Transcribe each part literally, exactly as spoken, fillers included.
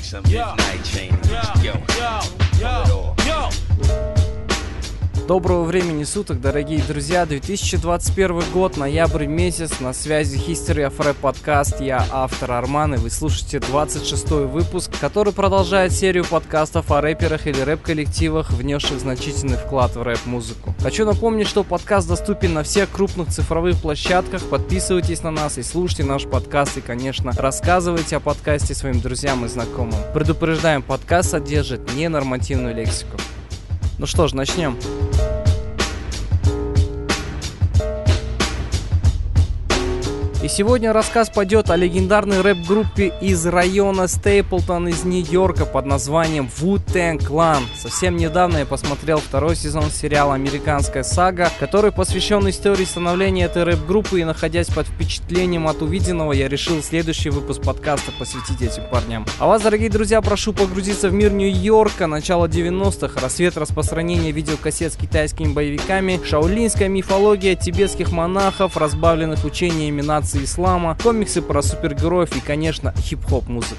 some midnight chain. Yo, yo, yo, yo. Доброго времени суток, дорогие друзья, две тысячи двадцать первый год, ноябрь месяц, на связи History of Rap подкаст, я автор Арман, и вы слушаете двадцать шестой выпуск, который продолжает серию подкастов о рэперах или рэп-коллективах, внесших значительный вклад в рэп-музыку. Хочу напомнить, что подкаст доступен на всех крупных цифровых площадках, подписывайтесь на нас и слушайте наш подкаст, и, конечно, рассказывайте о подкасте своим друзьям и знакомым. Предупреждаем, подкаст содержит ненормативную лексику. Ну что ж, начнем. И сегодня рассказ пойдет о легендарной рэп-группе из района Стейплтон из Нью-Йорка под названием Wu-Tang Clan. Совсем недавно я посмотрел второй сезон сериала «Американская сага», который посвящен истории становления этой рэп-группы, и, находясь под впечатлением от увиденного, я решил следующий выпуск подкаста посвятить этим парням. А вас, дорогие друзья, прошу погрузиться в мир Нью-Йорка, начало девяностых, рассвет распространения видеокассет с китайскими боевиками, шаолинская мифология тибетских монахов, разбавленных учениями нации ислама, комиксы про супергероев и, конечно, хип-хоп музыка.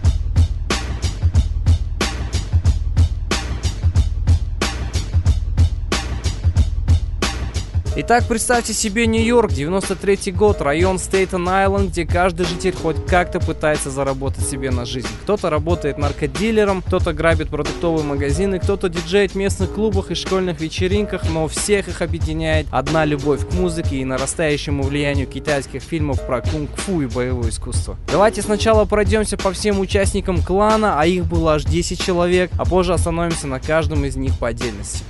Итак, представьте себе Нью-Йорк, девяносто третий год, район Стейтен-Айленд, где каждый житель хоть как-то пытается заработать себе на жизнь. Кто-то работает наркодилером, кто-то грабит продуктовые магазины, кто-то диджеет в местных клубах и школьных вечеринках, но всех их объединяет одна любовь к музыке и нарастающему влиянию китайских фильмов про кунг-фу и боевое искусство. Давайте сначала пройдемся по всем участникам клана, а их было аж десять человек, а позже остановимся на каждом из них по отдельности.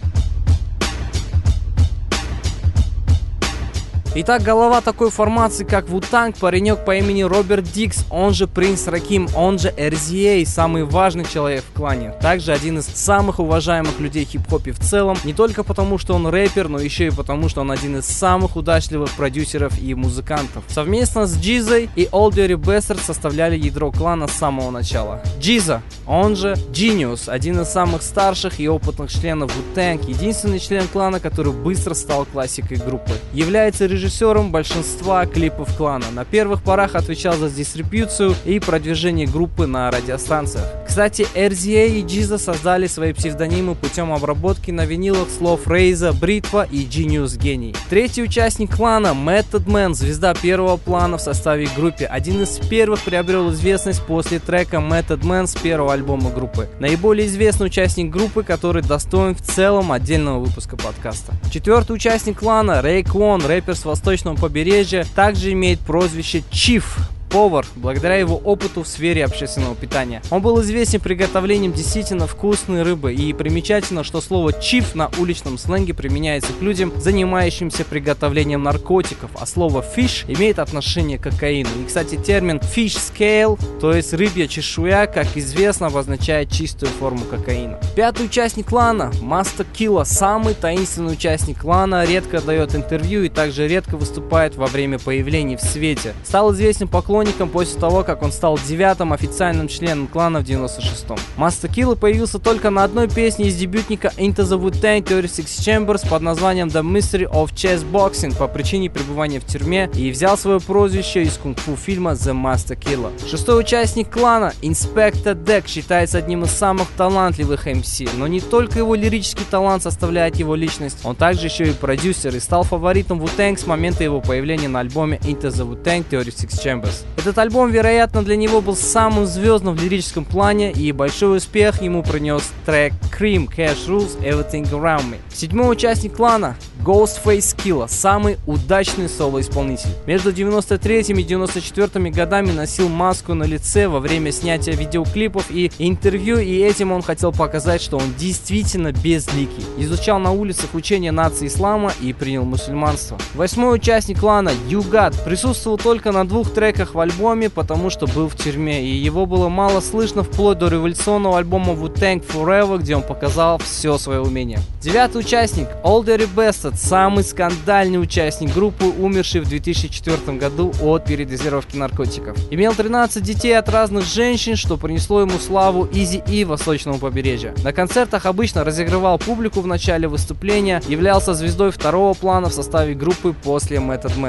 Итак, голова такой формации, как Wu-Tang, паренек по имени Роберт Дикс, он же Принц Раким, он же эр зет эй, самый важный человек в клане. Также один из самых уважаемых людей в хип-хопе в целом, не только потому, что он рэпер, но еще и потому, что он один из самых удачливых продюсеров и музыкантов. Совместно с Джизой и Old Dirty Bastard составляли ядро клана с самого начала. Джиза, он же Genius, один из самых старших и опытных членов Wu-Tang, единственный член клана, который быстро стал классикой группы. Является режиссером режиссером большинства клипов клана. На первых порах отвечал за дистрибьюцию и продвижение группы на радиостанциях. Кстати, эр зет эй и Джиза создали свои псевдонимы путем обработки на винилах слов Рейза, Бритва и Genius Гений. Третий участник клана, Method Man, звезда первого плана в составе группы, один из первых приобрел известность после трека Method Man с первого альбома группы. Наиболее известный участник группы, который достоин в целом отдельного выпуска подкаста. Четвертый участник клана, Рейквон, рэпер с восточного побережья, также имеет прозвище Чиф, повар, благодаря его опыту в сфере общественного питания. Он был известен приготовлением действительно вкусной рыбы, и примечательно, что слово «чиф» на уличном сленге применяется к людям, занимающимся приготовлением наркотиков, а слово «fish» имеет отношение к кокаину. И, кстати, термин «fish scale», то есть рыбья чешуя, как известно, обозначает чистую форму кокаина. Пятый участник клана, Master Killa, самый таинственный участник клана, редко дает интервью и также редко выступает во время появления в свете. Стал известен поклонником после того, как он стал девятым официальным членом клана в девяносто шестом. Master Killa появился только на одной песне из дебютника Into the Wu-Tang тридцать шесть Chambers под названием The Mystery of Chess Boxing по причине пребывания в тюрьме, и взял свое прозвище из кунг-фу фильма The Master Killa. Шестой участник клана, Inspector Deck, считается одним из самых талантливых эм си, но не только его лирический талант составляет его личность, он также еще и продюсер и стал фаворитом Wu-Tang с момента его появления на альбоме Into the Wu-Tang тридцать шесть Chambers. Этот альбом, вероятно, для него был самым звездным в лирическом плане, и большой успех ему принес трек Cream, Cash Rules, Everything Around Me. Седьмой участник клана, Ghostface Killah, самый удачный соло-исполнитель. Между девяносто третьим и девяносто четвёртым годами носил маску на лице во время снятия видеоклипов и интервью, и этим он хотел показать, что он действительно безликий. Изучал на улицах учения нации ислама и принял мусульманство. Восьмой участник клана, U-God, присутствовал только на двух треках в альбоме, потому что был в тюрьме, и его было мало слышно вплоть до революционного альбома Wu-Tang Forever, где он показал все свое умение. Девятый участник, Old Dirty Bastard, самый скандальный участник группы, умерший в две тысячи четвёртом году от передозировки наркотиков. Имел тринадцать детей от разных женщин, что принесло ему славу Eazy-E восточного побережья. На концертах обычно разыгрывал публику в начале выступления, являлся звездой второго плана в составе группы после Method Man.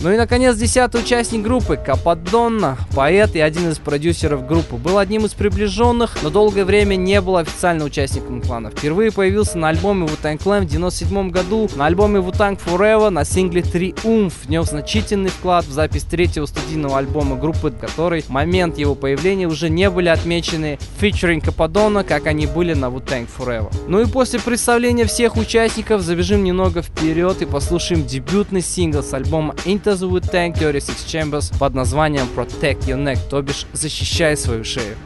Ну и, наконец, десятый участник группы Кападонна, поэт и один из продюсеров группы, был одним из приближенных, но долгое время не был официально участником клана. Впервые появился на альбоме Wu-Tang Clan в девяносто седьмом году, на альбоме Wu-Tang Forever, на сингле Триумф, внес значительный вклад в запись третьего студийного альбома группы, который в момент его появления уже не были отмечены featuring Кападонна, как они были на Wu-Tang Forever. Ну и после представления всех участников забежим немного вперед и послушаем дебютный сингл с альбома Into the Wu-Tang тридцать шесть Chambers под названием Protect Your Neck, то бишь защищай свою шею.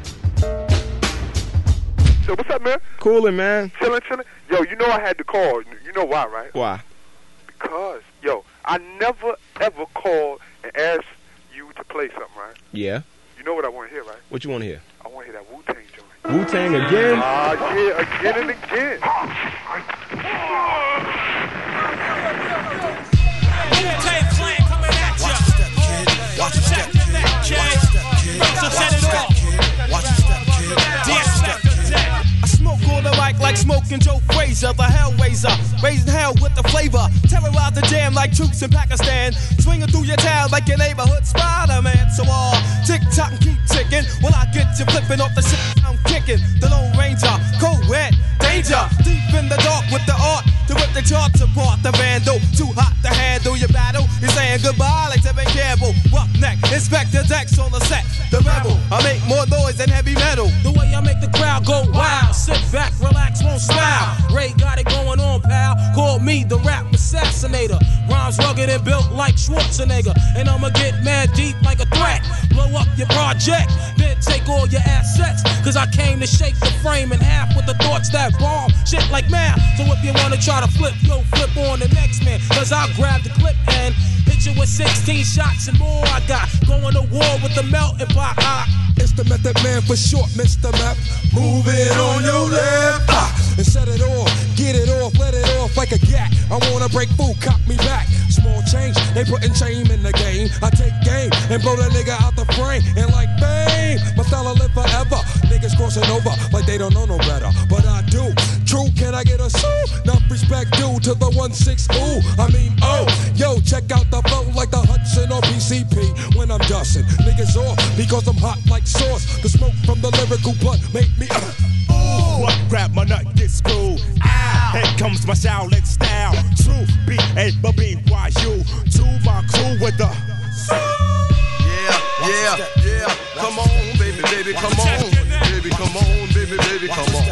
So what's up, man? Coolin', man. Chillin', chillin'. Yo, you know I had to call. You know why, right? Why? Because, yo, I never ever called and asked you to play something, right? Yeah. You know what I want to hear, right? What you want to hear? I want to hear that Wu-Tang joint. Wu-Tang again? Ah, uh, yeah, again and again. Wu-Tang Clan coming at ya. Watch your step, kid. Watch your step, kid. So set it off. Watch your step, kid. I smoke on the mic like smoking Joe Frazier, the Hellraiser, raising hell with the flavor. Terrorize the jam like troops in Pakistan, swinging through your town like your neighborhood Spider-Man. So all uh, tick tock and keep ticking. When I get you flipping off the shit I'm kicking, the Lone Ranger, co-ed, danger, deep in the dark with the art to rip the charts apart. The vandal, too hot to handle your battle. You're saying goodbye like Tevin Campbell. Roughneck, Inspector Dex on the set. The rebel, I make more noise than heavy metal. The way I make the crowd go wild. Sit back, relax, won't smile. Ray got it going on, pal. Call me the rap assassinator. Rhymes rugged and built like Schwarzenegger. And I'ma get mad deep like a threat. Blow up your project, then take all your assets. Cause I came to shake the frame in half with the thoughts that bomb shit like math. So if you wanna try to flip, yo, flip on the next man. Cause I'll grab the clip and hit you with sixteen shots and more. I got going to war with the melting pot. I It's the Method Man for short, Mister Meth. Move it on your left ah, and set it off, get it off, let it off like a gat. I wanna break food, cop me back. Small change, they putting shame in the game. I take game and blow that nigga out the frame. And like bang, my style will live forever. Niggas crossing over like they don't know no better, but I do. True, can I get a sue? Enough respect due to the one six ooh. I mean oh, yo, check out the flow like the Hudson or P C P. When I'm dusting, niggas off because I'm hot like sauce. The smoke from the lyrical blunt make me uh, ooh. What grab my nut get screwed? Ah, here comes my Shaolin style. True B A B Y U to my crew with the yeah, yeah, yeah. Come on, baby, baby, come on, baby, come on, baby, baby, come on.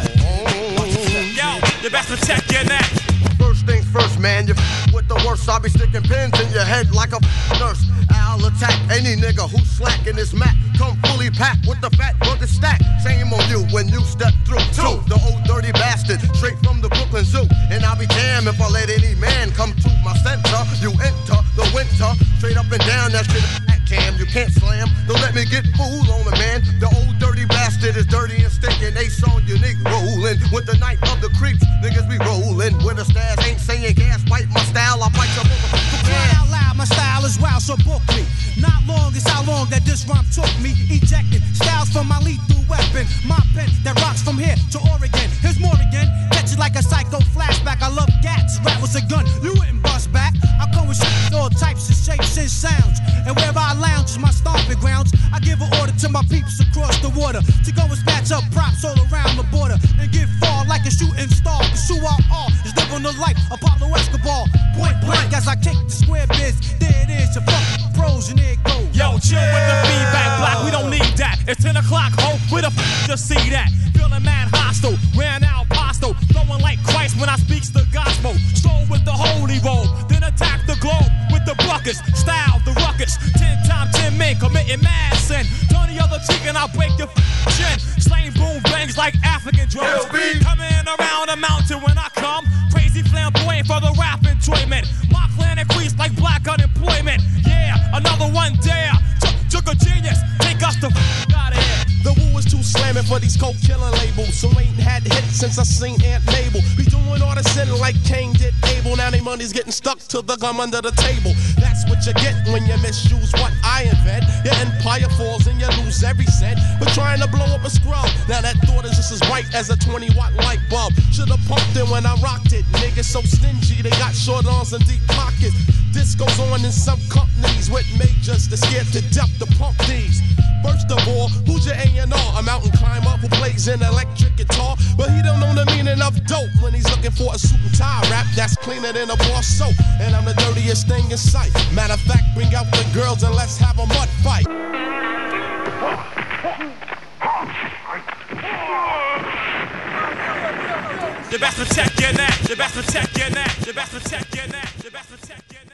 yo, you best protect your neck. First things first, man, you f- with the worst. I'll be sticking pins in your head like a f- nurse. I'll attack any nigga who's slacking his mat. Come fully packed with the fat rugged stack. Shame on you when you step through. Two, the old dirty bastard, straight from the Brooklyn Zoo. And I'll be damned if I let any man come to my center. You enter the winter, straight up and down that shit. Cam, you can't slam. Don't let me get fooled on the man. The old dirty bastard is dirty and stinking. Ace on your nigga rolling with the night of the creeps. Niggas be rolling with a stash. Ain't saying gas, bite my style. I bite your motherfucker. Cry out loud, my style is wild, so book me. Not long is how long that this rhyme took me. Ejecting styles from my lethal weapon. My pen that rocks from here to Oregon. Here's more again. Catch it like a psycho flashback. I love gats. Rap was a gun. You wouldn't bust back. I come with shit, all types of shapes and sounds. And where I lounge is my stomping grounds. I give an order to my peeps across the water to go and snatch up props all around the border and get far like a shooting star. Cause who I are is living the life Apollo Escobar. Point blank as I kick the square biz. There it is, your fucking pros and there it goes. Yo, chill with the feedback block, we don't need that. It's ten o'clock, ho, where the f to see that? Feeling mad hostile, ran out pasto. Flowing like Christ when I speaks the gospel. Stroll with the holy roll, then attack the globe with the buckets. Style the ruckus, ten times ten men committing mad sin. Turn the other cheek and I'll break your f chin. Slaying boom bangs like African drums. Coming around the mountain when I come. Crazy flamboyant for the rap enjoyment. My clan increased like black unemployment. Yeah, another one dare. Took a genius, take us the f out of here. The woo is too slamming for these coke killing labels. So ain't had hits since I seen Aunt Mabel. Be doing all the sin like Cain did Abel. Now they money's getting stuck to the gum under the table. That's what you get when you misuse what I invent. Your empire falls and you lose every cent. But trying to blow up a scrub, now that thought is just as bright as a twenty watt light bulb. Should've pumped it when I rocked it. Niggas so stingy, they got short arms and deep pockets. This goes on in some companies with majors that scared to death to pump these. First of all, who's your A and R? A mountain climber who plays an electric guitar, but he don't know the meaning of dope when he's looking for a suit and tie rap that's cleaner than a bar soap. And I'm the dirtiest thing in sight. Matter of fact, bring out the girls and let's have a mud fight. The best protect your neck, the best protect your neck, the best protect your neck, the best protect your neck.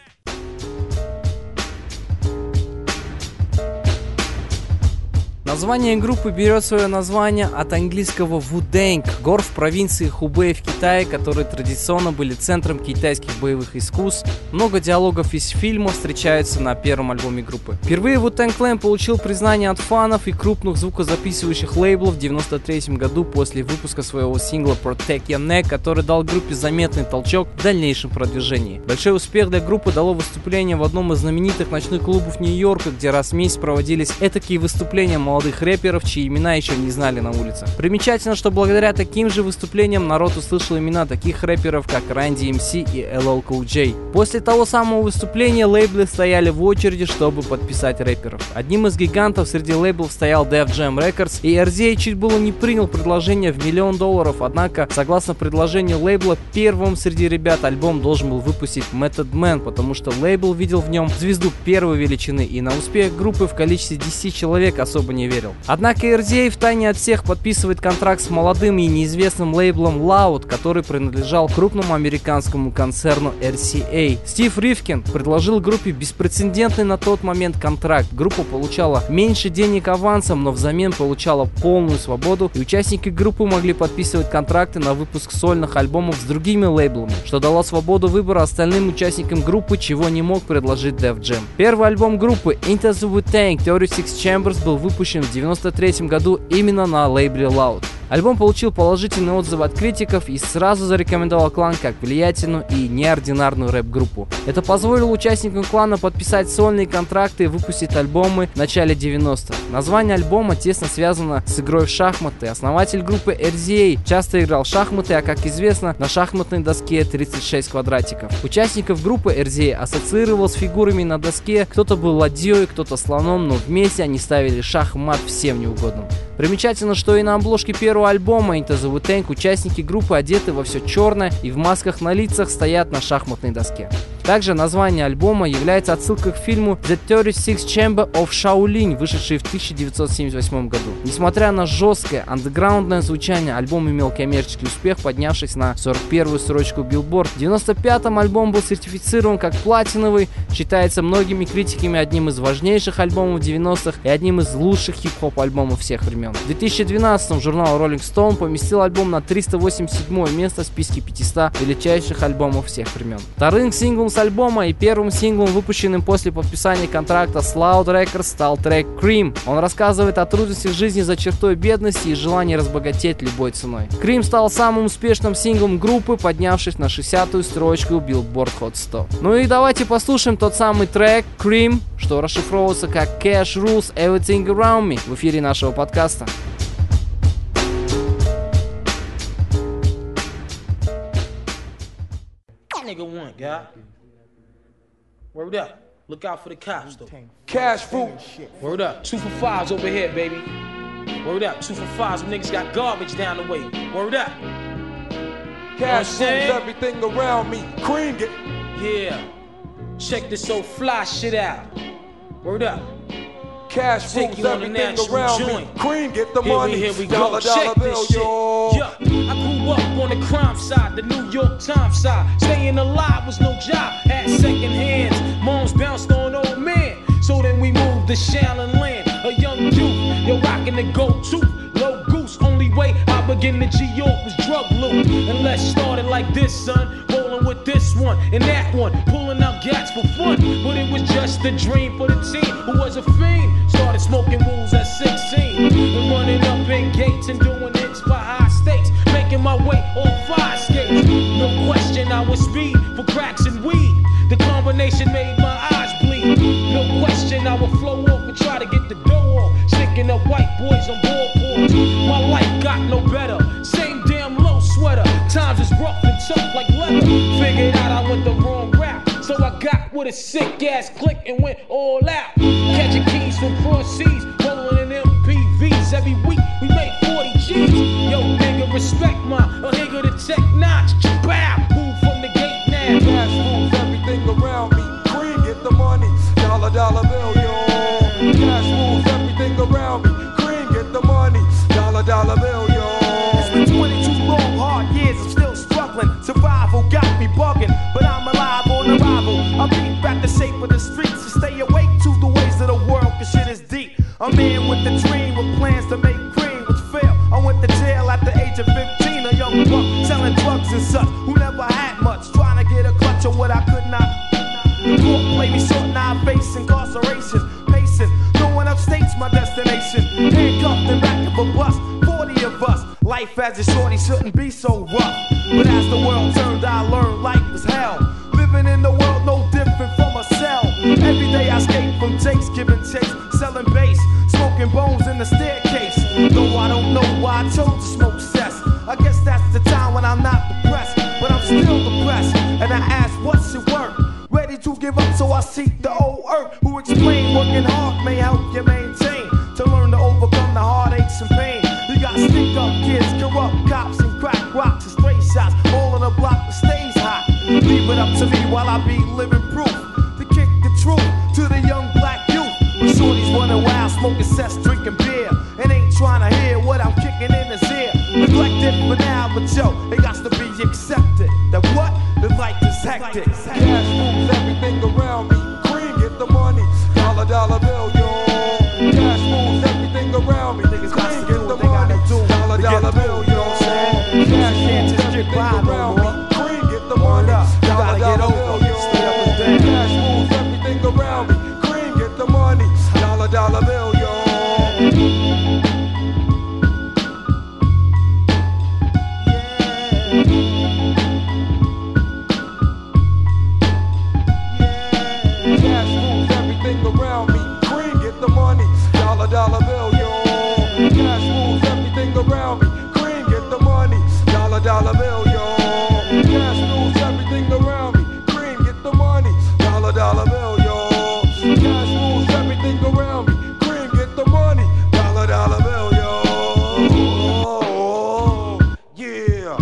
Название группы берет свое название от английского Вудэнг, гор в провинции Хубэй в Китае, которые традиционно были центром китайских боевых искусств. Много диалогов из фильма встречаются на первом альбоме группы. Впервые Wu-Tang Clan получил признание от фанов и крупных звукозаписывающих лейблов в девяносто третьем году после выпуска своего сингла Protect Your Neck, который дал группе заметный толчок в дальнейшем продвижении. Большой успех для группы дало выступление в одном из знаменитых ночных клубов Нью-Йорка, где раз в месяц проводились этакие выступления молодых рэперов, чьи имена еще не знали на улицах. Примечательно, что благодаря таким же выступлениям народ услышал имена таких рэперов, как Run ди эм си и эл эл Cool J. После того самого выступления лейблы стояли в очереди, чтобы подписать рэперов. Одним из гигантов среди лейблов стоял Def Jam Records, и эр зет эй чуть было не принял предложение в миллион долларов, однако, согласно предложению лейбла, первым среди ребят альбом должен был выпустить Method Man, потому что лейбл видел в нем звезду первой величины, и на успех группы в количестве десяти человек особо не верил. Однако эр зет эй втайне от всех подписывает контракт с молодым и неизвестным лейблом Loud, который принадлежал крупному американскому концерну эр си эй. Стив Ривкин предложил группе беспрецедентный на тот момент контракт. Группа получала меньше денег авансом, но взамен получала полную свободу, и участники группы могли подписывать контракты на выпуск сольных альбомов с другими лейблами, что дало свободу выбора остальным участникам группы, чего не мог предложить Def Jam. Первый альбом группы Into the Wu-Tang тридцать шесть Chambers был выпущен в девяносто третьем году именно на лейбле Loud. Альбом получил положительные отзывы от критиков и сразу зарекомендовал клан как влиятельную и неординарную рэп-группу. Это позволило участникам клана подписать сольные контракты и выпустить альбомы в начале девяностых. Название альбома тесно связано с игрой в шахматы. Основатель группы эр зет эй часто играл в шахматы, а как известно, на шахматной доске тридцать шесть квадратиков. Участников группы эр зет эй ассоциировал с фигурами на доске, кто-то был ладьей, кто-то слоном, но вместе они ставили шах и мат всем неугодным. Примечательно, что и на обложке первого альбома Into the Wu-Tang участники группы одеты во все черное и в масках на лицах стоят на шахматной доске. Также название альбома является отсылкой к фильму The тридцать шесть Chamber of Shaolin, вышедший в тысяча девятьсот семьдесят восьмом году. Несмотря на жесткое андеграундное звучание, альбом имел коммерческий успех, поднявшись на сорок первую строчку Billboard. В девяносто пятом альбом был сертифицирован как платиновый, считается многими критиками одним из важнейших альбомов девяностых и одним из лучших хип-хоп альбомов всех времен. В две тысячи двенадцатом журнал Rolling Stone поместил альбом на триста восемьдесят седьмое место в списке пятисот величайших альбомов всех времен. Вторым синглом с альбома и первым синглом, выпущенным после подписания контракта с Loud Records, стал трек Cream. Он рассказывает о трудностях жизни за чертой бедности и желании разбогатеть любой ценой. Cream стал самым успешным синглом группы, поднявшись на шестидесятую строчку Billboard Hot сто. Ну и давайте послушаем тот самый трек Cream, что расшифровывается как Cash Rules Everything Around Me в эфире нашего подкаста. Nigga one, guy. Word up. Look out for the cops, though. Cash fruit. Word up. Two for fives over here, baby. Word up. Two for fives. Some niggas got garbage down the way. Word up. Cash rules everything around me. Cream it. Yeah. Check this old fly shit out. Word up. Cash rules everything around me. Cream get the here money. We, here we go. Check this shit. Yeah. I grew up on the crime side, the New York Times side. Staying alive was no job. Had second hands. Moms bounced on old man. So then we moved to Shaolin Land. A young youth, you're rocking the go-to. Low goose, only way I begin to G-York was drug loot. And let's start it like this, son. Rolling with this one and that one. Pulling out gats for fun. But it was just a dream for the team who was a fiend. Started smoking rules at sixteen. And running up in gates and doing hits for high stakes. Making my way on fire skates. No question I was speed for cracks and weed. The combination made my eyes bleed. No question I would flow off and try to get the dough off. Sticking up white boys on ballboards. My life got no better. Same damn low sweater. Times is rough and tough like leather. Figured out I went the wrong route, so I got with a sick ass click and went all out. Catching keys from cross seas, rolling in M P Vs. Every week we make forty G's. Yo, nigga, respect my a nigga the tech notch. Bow, move from the gate now. Cash moves everything around me. Cream, get the money. Dollar, dollar bill, yo. Cash moves everything around me. Cream, get the money. Dollar, dollar bill, yo. It's been twenty-two long, hard years. I'm still struggling. Survival got me bugging, but I'm alive on arrival. I beat back the shape of the streets to stay awake to the ways of the world, cause shit is deep. A man with a dream with plans to make cream, which failed. I went to jail at the age of fifteen, a young buck selling drugs and such, who never had much, trying to get a clutch on what I could not. The court played me short, now I face incarceration. Pacing, going upstate's my destination. Handcuffed in back of a bus, forty of us. Life as a shorty shouldn't be so rough. But as the world turned, I learned life was hell. Living in the world no different from a cell. Every day I escape from Jake's, giving chase, selling bass, smoking bones in the staircase. Though I don't know why I chose to smoke cess. I guess that's the time when I'm not depressed, but I'm still depressed. And I ask, what's it worth? Ready to give up, so I seek the old earth, who explain working hard may help you maintain, to learn to overcome the heartaches and pain. You got stick up kids, corrupt cops, and crack rocks and stray shots, all on the block that stays hot. Leave it up to me while I be living proof to kick the truth to the young black youth. When shorties running wild, smoking cess, drinking beer, and ain't trying to hear what I'm kicking in his ear. Neglected for now, but yo, it got to be accepted that what? The life is hectic. Cash moves everything around me. Cream, get the money. Dollar, dollar bill, yo. Cash moves everything around me. Cream, get the money. Dollar, dollar bill, yo. Cash moves everything around me. Cream, get the money. Dollar, dollar bill, yo. Cash moves everything around me. Cream, get the money. Dollar, dollar bill, yo. Dollar bill, yo. Cash moves everything around me. Cream, get the money. Dollar, dollar bill, yo. Cash moves everything around me. Cream, get the money. Dollar, dollar bill, yo. Cash moves everything around me. Cream, get the money. Dollar, dollar bill, yo. Yeah.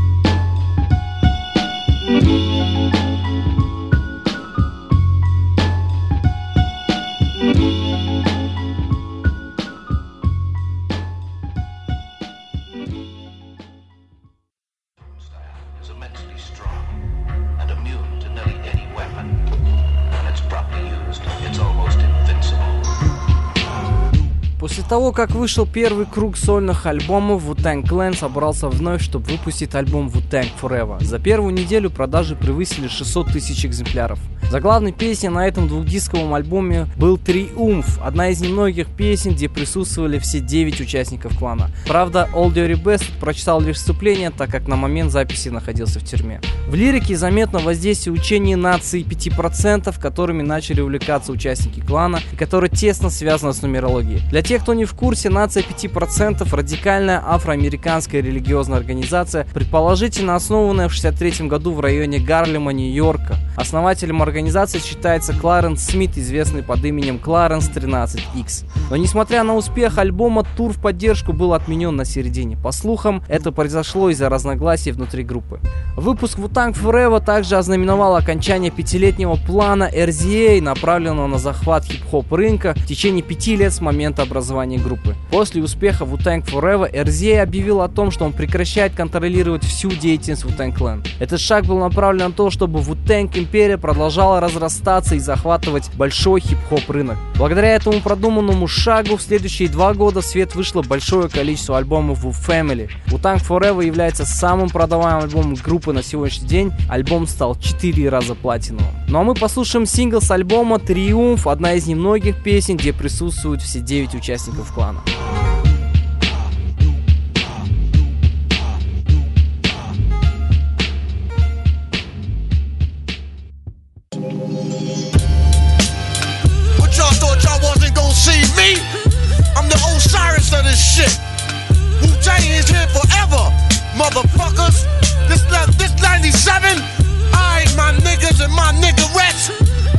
После того, как вышел первый круг сольных альбомов, Wu-Tang Clan собрался вновь, чтобы выпустить альбом Wu-Tang Forever. За первую неделю продажи превысили шестьсот тысяч экземпляров. Заглавной песней на этом двухдисковом альбоме был «Триумф», одна из немногих песен, где присутствовали все девять участников клана. Правда, Old Dirty Bastard прочитал лишь вступление, так как на момент записи находился в тюрьме. В лирике заметно воздействие учения нации пяти процентов, которыми начали увлекаться участники клана и которое тесно связано с нумерологией. Для тех, кто не в курсе, нация пяти процентов – радикальная афроамериканская религиозная организация, предположительно основанная в шестьдесят третьем году в районе Гарлема, Нью-Йорка. Основателем организации считается Кларенс Смит, известный под именем Кларенс тринадцать икс. Но несмотря на успех альбома, тур в поддержку был отменен на середине. По слухам, это произошло из-за разногласий внутри группы. Выпуск Wu-Tang Forever также ознаменовал окончание пятилетнего плана эр зет эй, направленного на захват хип-хоп рынка в течение пяти лет с момента образования группы. После успеха Wu-Tang Forever эр зет эй объявил о том, что он прекращает контролировать всю деятельность Wu-Tang Clan. Этот шаг был направлен на то, чтобы Wu-Tang империя продолжала разрастаться и захватывать большой хип-хоп рынок. Благодаря этому продуманному шагу в следующие два года в свет вышло большое количество альбомов Wu Family. Wu-Tang Forever является самым продаваемым альбомом группы на сегодняшний день. Альбом стал четыре раза платиновым. Ну а мы послушаем сингл с альбома «Триумф», одна из немногих песен, где присутствуют все девять участников клана. What y'all thought y'all wasn't gonna see me? I'm the Osiris of this shit. Wu-Tang is here forever, motherfuckers. This this ninety-seven. Alright, my niggas and my niggerettes.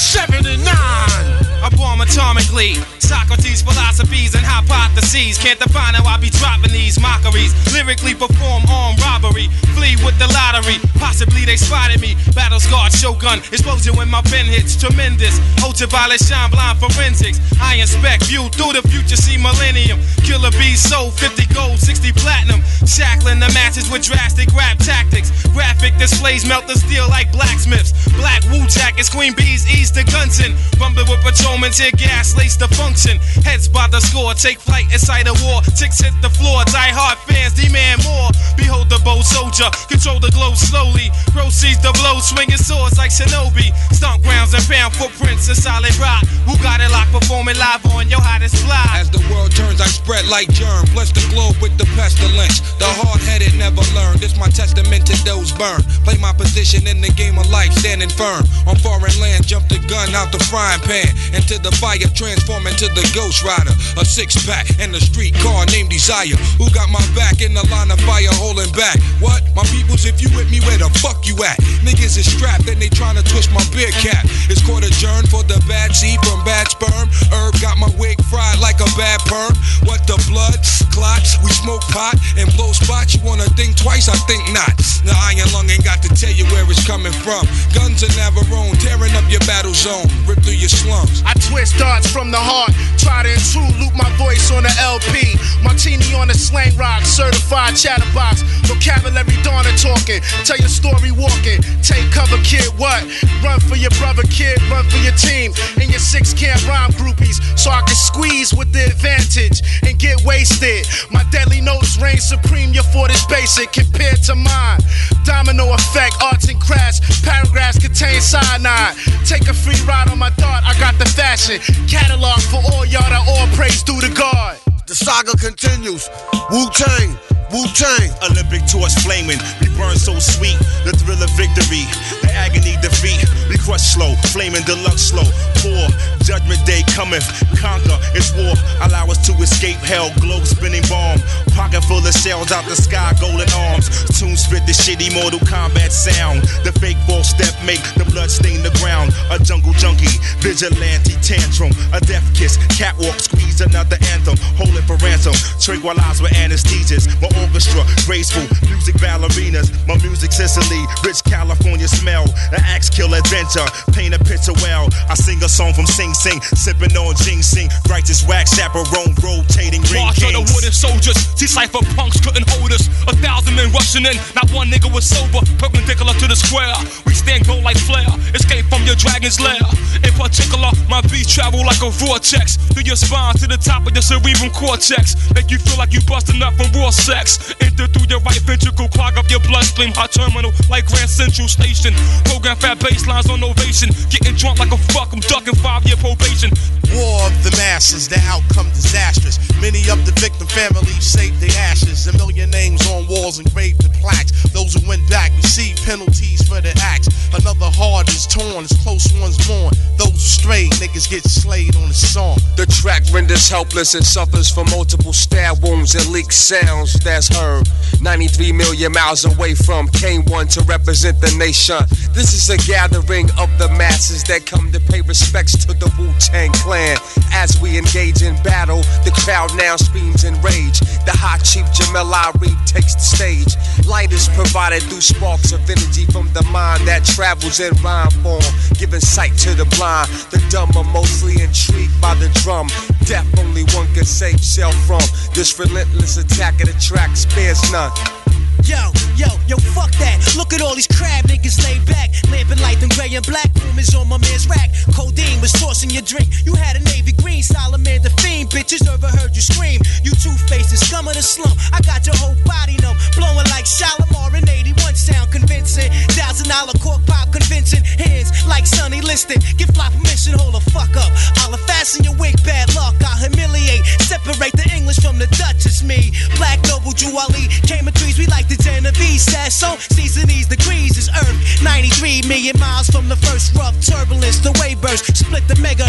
seventy-nine. I bomb atomically. Socrates' philosophies and hypotheses. Can't define how I be dropping these mockeries. Lyrically perform armed robbery. Flee with the lottery. Possibly they spotted me. Battle scarred shogun. Explosion when my pen hits. Tremendous. Ultraviolet shine blind forensics. I inspect. View through the future. See millennium. Killer bees sold. fifty gold. sixty platinum. Shackling the matches with drastic rap tactics. Graphic displays melt the steel like blacksmiths. Black Wu jackets. Queen bees ease the Gunson. Rumbling with patrolmen. Tear gas lace the function. Heads by the score. Take flight inside a war. Ticks hit the floor. Die hard fans demand more. Behold the bold soldier. Control the glow slowly. Proceeds the blow. Swinging swords like shinobi. Stomp grounds and pound footprints in solid rock. Who got it locked? Performing live on your hottest fly. As the world turns, I spread like germ. Bless the globe with the pestilence. The hard-headed never learn. This my testament to those burned. Play my position in the game of life, standing firm. On foreign land, jump the gun out the frying pan. Into the fire, transform into the Ghost Rider. A six-pack and a street car named Desire. Who got my back in the line of fire holding back? What? My peoples, if you with me, where the fuck you at? Niggas is strapped and they tryna twist my beer cap. It's court adjourned for the bad seed from bad sperm. Herb got my wig fried like a bad perm. What the blood? Clots. We smoke pot and blow spots. You wanna think twice? I think not. The iron lung ain't got to tell you where it's coming from. Guns are Navarone, tearing up your battle zone. Rip through your slums. I twist darts from the heart. Try to intrude, loop my voice on the L P. Martini on the slang rock. Certified chatterbox. Vocabulary Donna talking. Tell your story walking. Take cover, kid, what? Run for your brother, kid. Run for your team. And your six can't rhyme groupies. So I can squeeze with the advantage and get wasted. My deadly notes reign supreme. Your fort is basic compared to mine. Domino effect, arts and crafts. Paragraphs contain cyanide. Take a free ride on my dart. I got the fashion. Catalog for all y'all that all praise due to God. The saga continues. Wu-Tang, Wu-Tang. Olympic torch flaming. We burn so sweet. The thrill of victory. The agony defeat. We crush slow. Flaming deluxe slow. Poor. Judgment day cometh. Conquer. It's war. Allow us to escape hell. Globe spinning bomb. Pocket full of shells out the sky. Golden arms. Tune spit the shitty Mortal Kombat sound. The fake ball step make the blood stain the ground. A jungle junkie. Vigilante tantrum. A death kiss. Catwalk squeeze another anthem. Hold it for ransom. Tranquilize with anesthesias. My orchestra. Graceful. Music ballerinas. My music Sicily. Rich California smell. The axe kill adventure. Paint a picture well. I sing a song from Sing Sing. Sipping on ginseng. Righteous wax chaperone. Rotating ring March of the wooden soldiers. See cypher punks couldn't hold us. A thousand men rushing in. Not one nigga was sober. Perpendicular to the square. We stand gold like flare. Escape from your dragon's lair. In particular, my beats travel like a vortex. Through your spine to the top of your cerebral cortex. Make you feel like you busting up from raw sex. Enter through your right ventricle. Clog up your bloodstream. Hot terminal like Grand Central Station. Program fat baselines on ovation. Getting drunk like a fuck. I'm ducking five year probation. War of the masses, the outcome disastrous. Many of the victim families saved their ashes. A million names on walls engraved in plaques. Those who went back receive penalties for their acts. Another heart is torn as close ones mourn. Those who strayed, niggas get slayed on the song. The track renders helpless and suffers from multiple stab wounds and leaked sounds that's heard ninety-three million miles away from K one to represent the nation. This is a gathering of the masses that come to pay respects to the Wu-Tang Clan. As we engage in battle, the crowd now screams in rage. The hot chief Jamel Ari takes the stage. Light is provided through sparks of energy from the mind that travels in rhyme form, giving sight to the blind. The dumb are mostly intrigued by the drum. Death only one can save self from. This relentless attack of the track spares none. Yo, yo, yo, fuck that. Look at all these crab niggas laid back. Lamping light, them gray and black. Room is on my man's rack. Codeine was tossing your drink. You had a navy green, Solomon the fiend. Bitches never heard you scream. You two-faced, scum of the slum. I got your whole body numb. Blowing like Shalimar in eighty-one sound convincing. Thousand dollar cork pop convincing. Hands like Sonny Liston. Give fly permission, hold the fuck up. I'll fasten your wig, bad luck. I'll humiliate. Separate the English from the Dutch. It's me. Black Noble Juwali. Came in trees, we like the Genovese. Sasso, season these degrees is Earth. ninety-three million miles from the first rough turbulence. The wave burst, split the megahertz. Hey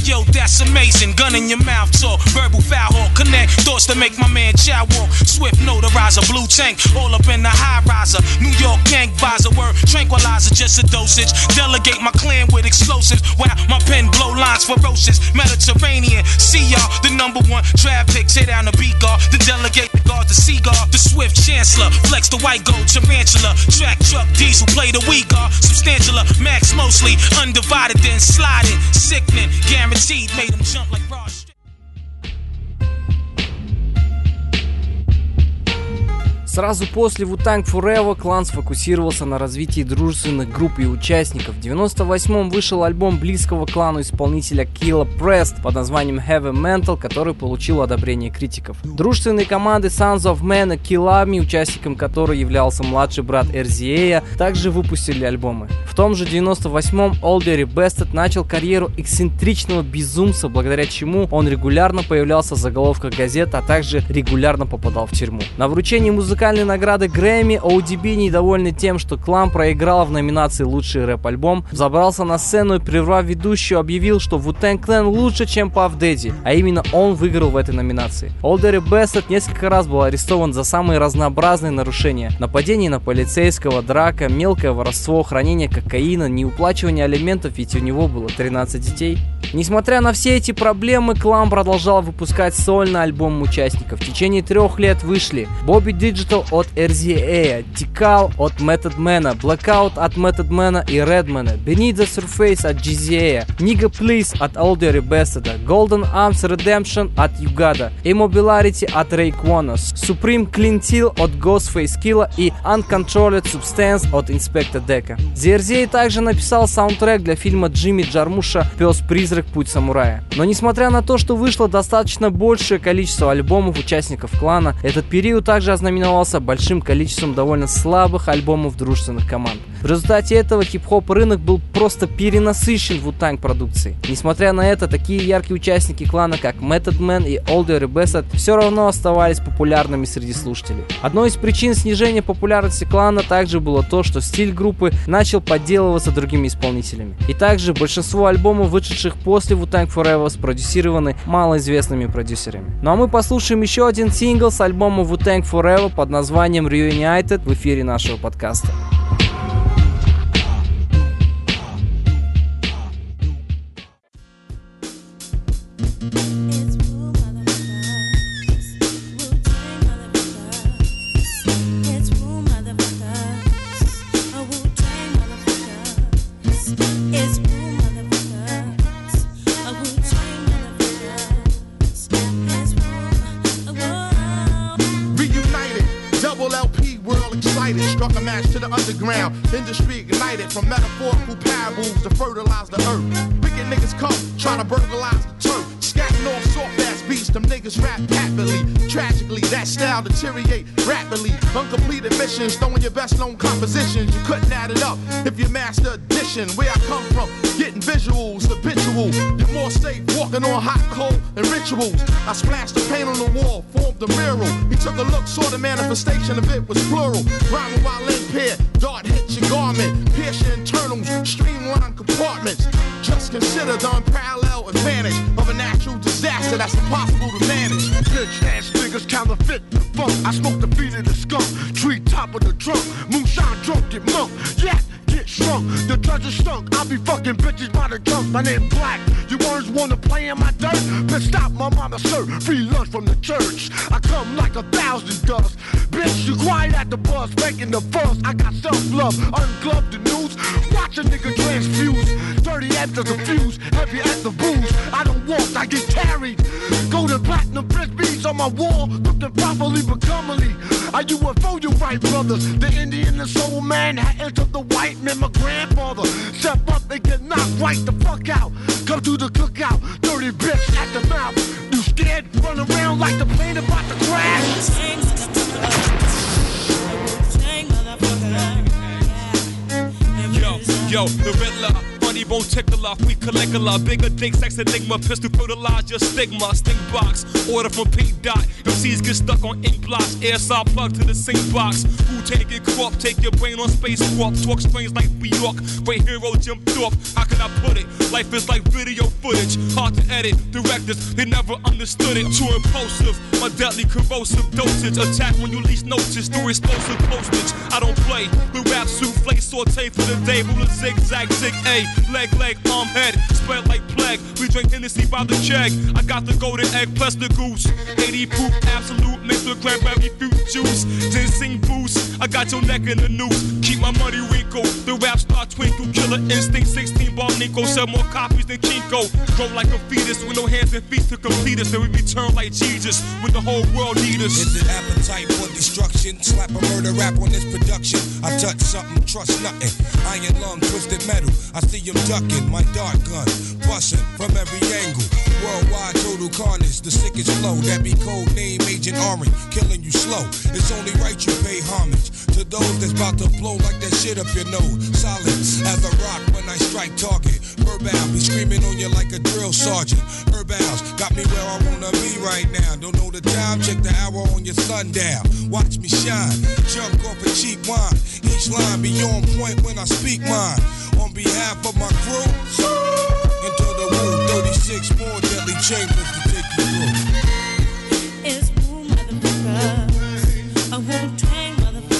yo, that's amazing. Gun in your mouth talk, verbal foul hawk, connect thoughts to make my man chow walk. Swift notarizer, blue tank, all up in the high riser. New York gang visor, word tranquilizer, just a dosage. Delegate my clan with explosives, while my pen blow lines ferocious. Mediterranean, see y'all, the number one draft pick. Tear down the beat guard, the delegate, the guard, the seagull, the swift chancellor. Flex the white gold tarantula. Track truck diesel, play the weak guard. Substantial, max mostly. Undivided, then sliding. Sickening, guaranteed, made him jump like Raj. Сразу после Wu-Tang Forever клан сфокусировался на развитии дружественных групп и участников. В девяносто восьмом вышел альбом близкого клану исполнителя Killa Prest под названием Heavy Mental, который получил одобрение критиков. Дружественные команды Sons of Men и Killami, участником которой являлся младший брат эр зет эй, также выпустили альбомы. В том же девяносто восьмом Oldie Bested начал карьеру эксцентричного безумца, благодаря чему он регулярно появлялся в заголовках газет, а также регулярно попадал в тюрьму. На вручении музыкальной награды Грэмми о ди би, недовольный тем, что клан проиграл в номинации «Лучший рэп-альбом», забрался на сцену и, прервав ведущую, объявил, что Wu-Tang Clan лучше, чем Puff Daddy, а именно он выиграл в этой номинации. Oldie Bested несколько раз был арестован за самые разнообразные нарушения: нападение на полицейского, драка, мелкое воровство, хранение кокаина, неуплачивание алиментов, ведь у него было тринадцать детей. Несмотря на все эти проблемы, клан продолжал выпускать сольный альбом участников. В течение трех лет вышли Bobby Digital от эр зет эй, Tikal от Method Man, Blackout от Method Man и Redman, Beneath the Surface от джи зет эй, Nigga Please от Oldie Bested, Golden Arms Redemption от Ugada, Immobilarity от Raekwon, Supreme Clientele от Ghostface Killah и Uncontrolled Substance от Inspector Deck. ди эр зет эй также написал саундтрек для фильма Джимми Джармуша «Пес-призрак. Путь самурая». Но несмотря на то, что вышло достаточно большее количество альбомов участников клана, этот период также ознаменовался большим количеством довольно слабых альбомов дружественных команд. В результате этого хип-хоп рынок был просто перенасыщен Wu-Tang продукцией. Несмотря на это, такие яркие участники клана, как Method Man и Oldie Bested, все равно оставались популярными среди слушателей. Одной из причин снижения популярности клана также было то, что стиль группы начал подделываться другими исполнителями. И также большинство альбомов, вышедших после Wu-Tang Forever, спродюсированы малоизвестными продюсерами. Ну а мы послушаем еще один сингл с альбома Wu-Tang Forever под названием Reunited в эфире нашего подкаста. Struck a match to the underground, industry ignited from metaphorical parables to fertilize the earth. Wicked niggas come, trying to burglarize the turf. Scatting off soft ass beats, them niggas rap happily. Tragically, that style deteriorate rapidly. Uncompleted missions, throwing your best known compositions. You couldn't add it up if you master addition. Where I come from, getting visuals, habitual. You're more safe walking on hot coal and rituals. I splashed the paint on the wall, formed a mural. He took a look, saw the manifestation of it was plural. Rhyming while in pair, dart hits your garment. Pierce your internals, streamline compartments. Just consider the unparalleled advantage of a natural disaster that's impossible to manage. Bitch ass niggas counterfeit the funk. I smoke the feet of the skunk, tree top of the trunk. Moonshine drunk, get monk, yeah, get shrunk. The treasure stunk, I be fucking bitches by the junk. My name Black, you words wanna play in my dirt? Bitch stop, my mama serve free lunch from the church. I come like a thousand dust. Bitch, you quiet at the bus, making the fuss. I got self-love, ungloved the news. Watch a nigga transfuse. Dirty after the fuse, heavy at the booze. I don't walk, I get carried. Golden platinum frisbees on my wall, cooked properly but commonly. I U F O, you right, brothers. The Indian and soul man had entered the white man, my grandfather. Step up and get knocked right the fuck out. Come to the cookout, dirty bitch at the mouth. You scared? Run around like the plane about to crash. Yo, yo, the Riddler, funny T-bone tickler, we Caligula, bigger dick, sex enigma, pistol fertilize your stigma, sting box, order from P. Dot. M Cs get stuck on ink blocks, air saw plug to the sink box. Wu-Tang get corrupt, take your brain on space warp, talk strange like New York, great hero Jim Thorpe. How can I put it? Life is like video footage, hard to edit. Directors, they never understood it. Too impulsive, my deadly corrosive dosage. Attack when you least notice through explosive postage. I don't play with rap souffle, saute for the day. Ruler zigzag, zig A, leg, leg, arm, head, spread like plague. We drink Hennessy by the keg. I got the golden egg plus the goose. eighty proof, absolute, mixed with cranberry fruit juice. Ginseng boost, I got your neck in the noose. Keep my money wrinkle, the rap star twinkle. Killer instinct, sixteen bar Nico. Sell more copies than Kinko. Grow like a fetus with no hands and feet to complete us. Then we return like Jesus when the whole world need us. Is it appetite for destruction? Slap a murder rap on this production. I touch something, trust nothing. Iron lung, twisted metal. I see him ducking, my dart gun. Busting from every angle. Worldwide total carnage, the sickest flow. That be code name Agent Orange, killing you slow. It's only right you pay homage to those that's about to blow like that shit up your nose. Solid as a rock when I strike target. Verbal be screaming on you like a drill sergeant. Herbals got me where I wanna be right now. Don't know the time, check the hour on your sundial. Watch me shine, jump off a cheap wine. Each line be on point when I speak mine. On behalf of my crew, into the room, thirty-six more deadly chambers to take you through. It's Wu motherfuckers, a Wu-Tang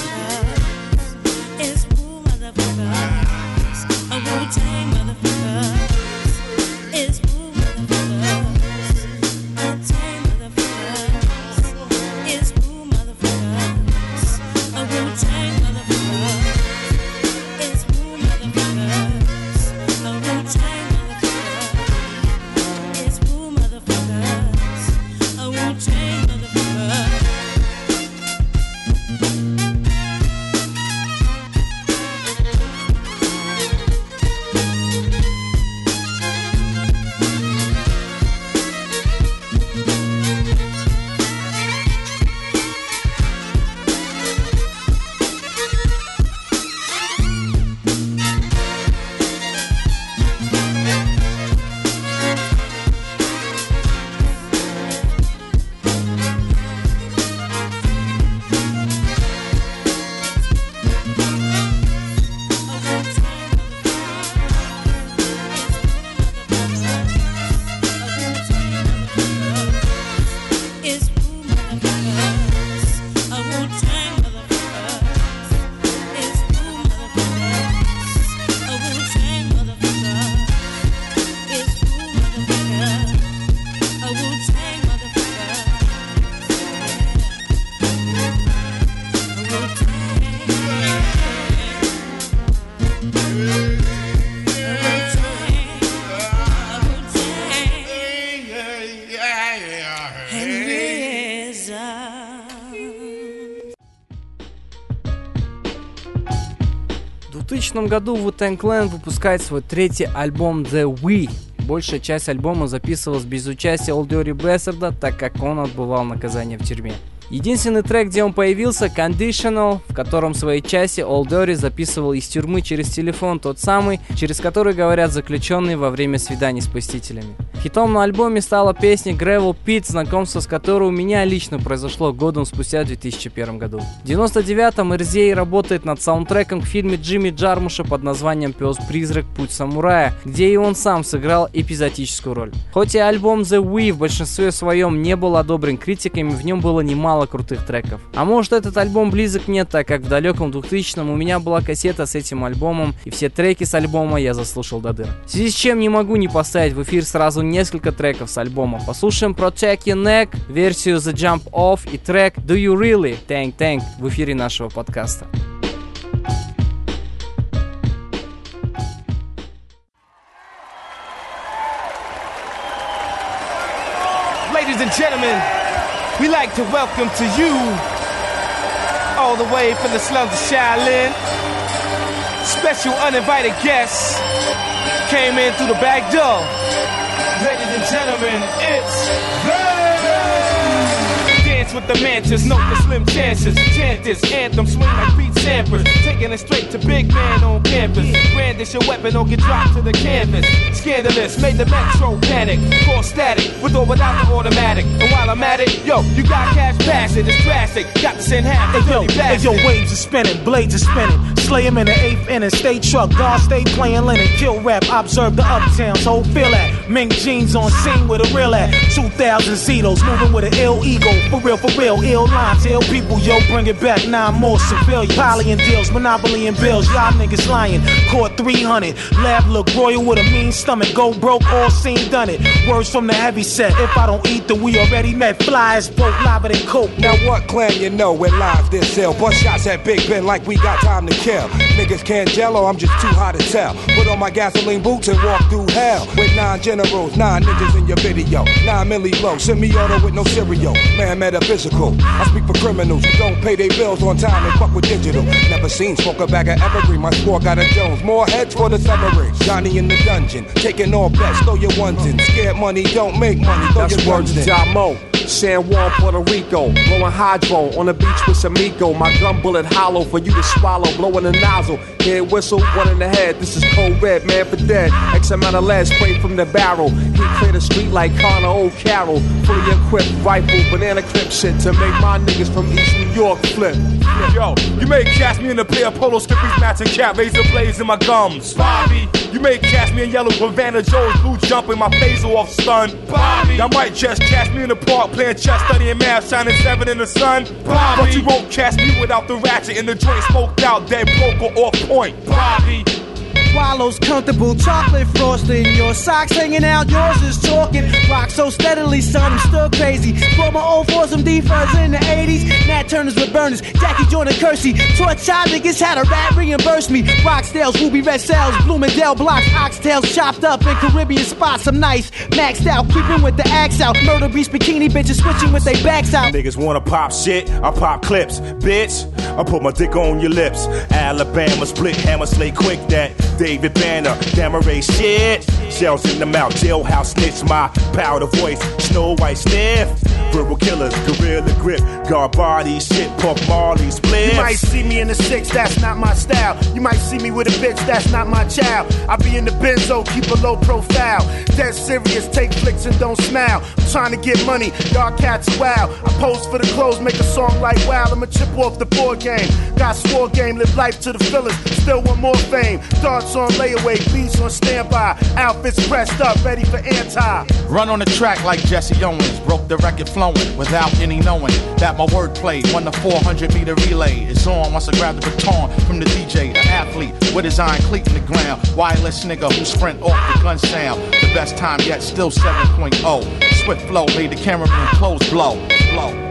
motherfuckers. It's Wu motherfuckers, a Wu-Tang motherfuckers. It's Wu motherfuckers, a Tang motherfuckers. It's Wu motherfuckers, a Wu-Tang motherfuckers. It's Wu motherfuckers, a Wu-Tang motherfuckers. It's Wu motherfuckers, a Wu-Tang motherfuckers. В две тысячном году Wu-Tang Clan выпускает свой третий альбом The We. Большая часть альбома записывалась без участия Old Dirty Bastard, так как он отбывал наказание в тюрьме. Единственный трек, где он появился, Conditional, в котором в своей части Old Dirty записывал из тюрьмы через телефон, тот самый, через который говорят заключенные во время свиданий с посетителями. Хитом на альбоме стала песня Gravel Pit, знакомство с которой у меня лично произошло годом спустя в две тысячи первом году. В девяносто девятом эр зет эй работает над саундтреком к фильме Джимми Джармуша под названием «Пес-призрак. Путь самурая», где и он сам сыграл эпизодическую роль. Хоть и альбом The We в большинстве своем не был одобрен критиками, в нем было немало крутых треков. А может, этот альбом близок мне, так как в далеком двухтысячном у меня была кассета с этим альбомом, и все треки с альбома я заслушал до дыр. В связи с чем не могу не поставить в эфир сразу несколько треков с альбома. Послушаем Protect Your Neck, версию The Jump Off и трек Do You Really? Tank Tank в эфире нашего подкаста. Ladies and gentlemen, we like to welcome to you, all the way from the slums of Shaolin, special uninvited guests came in through the back door. Ladies and gentlemen, it's the dance with the mantis, note the slim chances. Chant this anthem, swing like Pete Sampras. Taking it straight to big man on campus. Brandish your weapon or get dropped to the canvas. Scandalous, made the metro panic. Call static, with or without the automatic. And while I'm at it, yo, you got cash passing, it's drastic. Got to send half the yo, hey, yo, waves are spinning, blades are spinning. Slay him in the eighth inning, stay truck, guard stay playing linen. Kill rap, observe the uptowns, whole feel that. Mink jeans on scene with a real at. two thousand Zetos, moving with an ill ego. For real, for real, ill lines, ill people, yo, bring it back, nine more civilians. Poly and deals, monopoly and bills, y'all niggas lying. Caught three hundred, lab look royal with a mean stomach. Go broke, all seen, done it. Words from the heavy set, if I don't eat, then we already met. Fly as broke, lava than coke. Now what clan you know when lives this sell? Bust shots at Big Ben like we got time to kill. Niggas can't jello, I'm just too hot to tell. Put on my gasoline boots and walk through hell. With nine generals, nine niggas in your video. Nine milli low, semi-auto with no cereal. Man, metaphysical. I speak for criminals who don't pay their bills on time and fuck with digital. Never seen smoke a bag of evergreen. My score got a Jones. More heads for the submarine. Johnny in the dungeon, taking all bets. Throw your ones in. Scared money don't make money. Throw That's your ones in. Mo. San Juan, Puerto Rico, blowing hydro on the beach with Samico. My gun bullet hollow for you to swallow, blowing the nozzle. Head whistle, one in the head. This is Code Red, man for dead. X amount of lead sprayed from the barrel. He cleared the street like Connor O'Carroll. Fully equipped rifle, banana clip shit to make my niggas from East New York flip. Yo, you may catch me in a pair of polo skippies, matching cap, razor blades in my gums. Bobby, you may catch me in yellow Havana Joe's blue jumping my phaser off stun. Bobby, y'all might just catch me in the park playing chess, studying math, shining seven in the sun. Bobby, but you won't catch me without the ratchet in the joint, smoked out, dead broke or off point. Bobby. Swallows comfortable, chocolate frosting. Your socks hanging out, yours is talking. Rock so steadily, son, I'm still crazy. Brought my old for some D-Fuzz in the eighties. Nat Turners with burners, Jackie Jordan Kersey. Taught child niggas how to rap, reimburse me. Rockstales, Ruby Red Cells, Bloomingdale blocks, oxtails chopped up in Caribbean spots. I'm nice, maxed out, keeping with the axe out. Murder beast, bikini bitches switching with their backs out. Niggas wanna pop shit, I pop clips. Bitch, I put my dick on your lips. Alabama split, hammer slay quick that. David Banner, Gamma Ray shit. Shells in the mouth, jailhouse snitch, my powder voice, Snow White sniff. Verbal killers, gorilla grip, guard body, shit, Puff Marley, split. You might see me in the six, that's not my style. You might see me with a bitch, that's not my child. I be in the benzo, keep a low profile. Dead serious, take flicks and don't smile. I'm trying to get money, y'all cats are wild. I pose for the clothes, make a song like wow. I'ma chip off the board game. Got swore game, live life to the fillers. Still want more fame. Darts on layaway, beats on standby. Outfits pressed up, ready for anti. Run on the track like Jesse Owens. Broke the record flowing without any knowing that my wordplay won the four hundred meter relay. It's on once I grab the baton from the D J. An athlete with his iron cleat in the ground. Wireless nigga who sprint off the gun sound. The best time yet, still seven point oh. Swift flow made the cameraman clothes blow. Blow.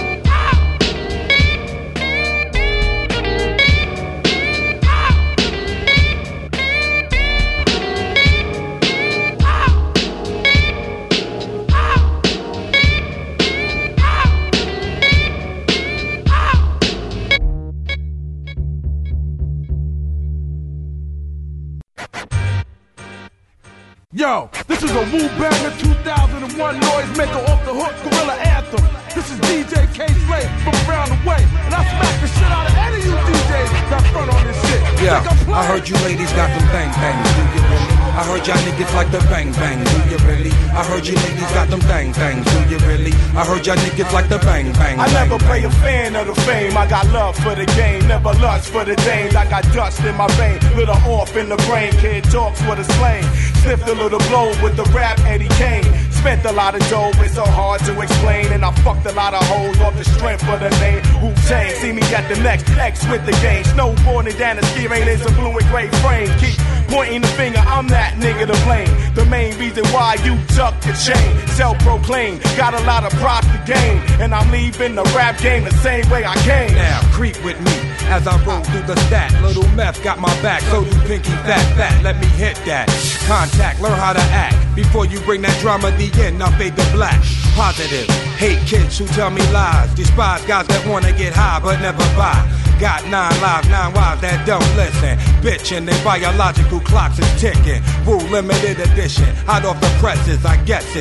Yo, this is a Wu Banger two thousand one noisemaker off the hook gorilla anthem. This is D J K-Slay from around the way, and I smack the shit out of any of you D Js that front on this shit. Yeah, I heard you ladies got them bang bangs, do you really? I heard y'all niggas like the bang bang, do you really? I heard you ladies got them bang bangs, do you really? I heard y'all niggas like the bang bang. I never play a fan of the fame. I got love for the game, never lust for the dames. I got dust in my vein, little off in the brain. Kid talks with a slang, sniffed a little blow with the rap Eddie Kane. Spent a lot of dough, it's so hard to explain. And I fucked a lot of hoes off the strength of the name Wu-Tang. See me at the next X with the game. Snowboarding down the ski rain is a blue and gray frame. Keep pointing the finger, I'm that nigga to blame. The main reason why you tuck the chain. Self-proclaimed, got a lot of props to gain. And I'm leaving the rap game the same way I came. Now creep with me as I roll through the stack. Little meth got my back, so do Pinky Fat Fat. Let me hit that. Contact, learn how to act. Before you bring that drama, the end, I'll fade to black. Positive, hate kids who tell me lies. Despise guys that wanna get high but never buy. Got nine lives, nine wives that don't listen. Bitchin', their biological clocks is ticking. Rule limited edition, hot off the presses, I guess it's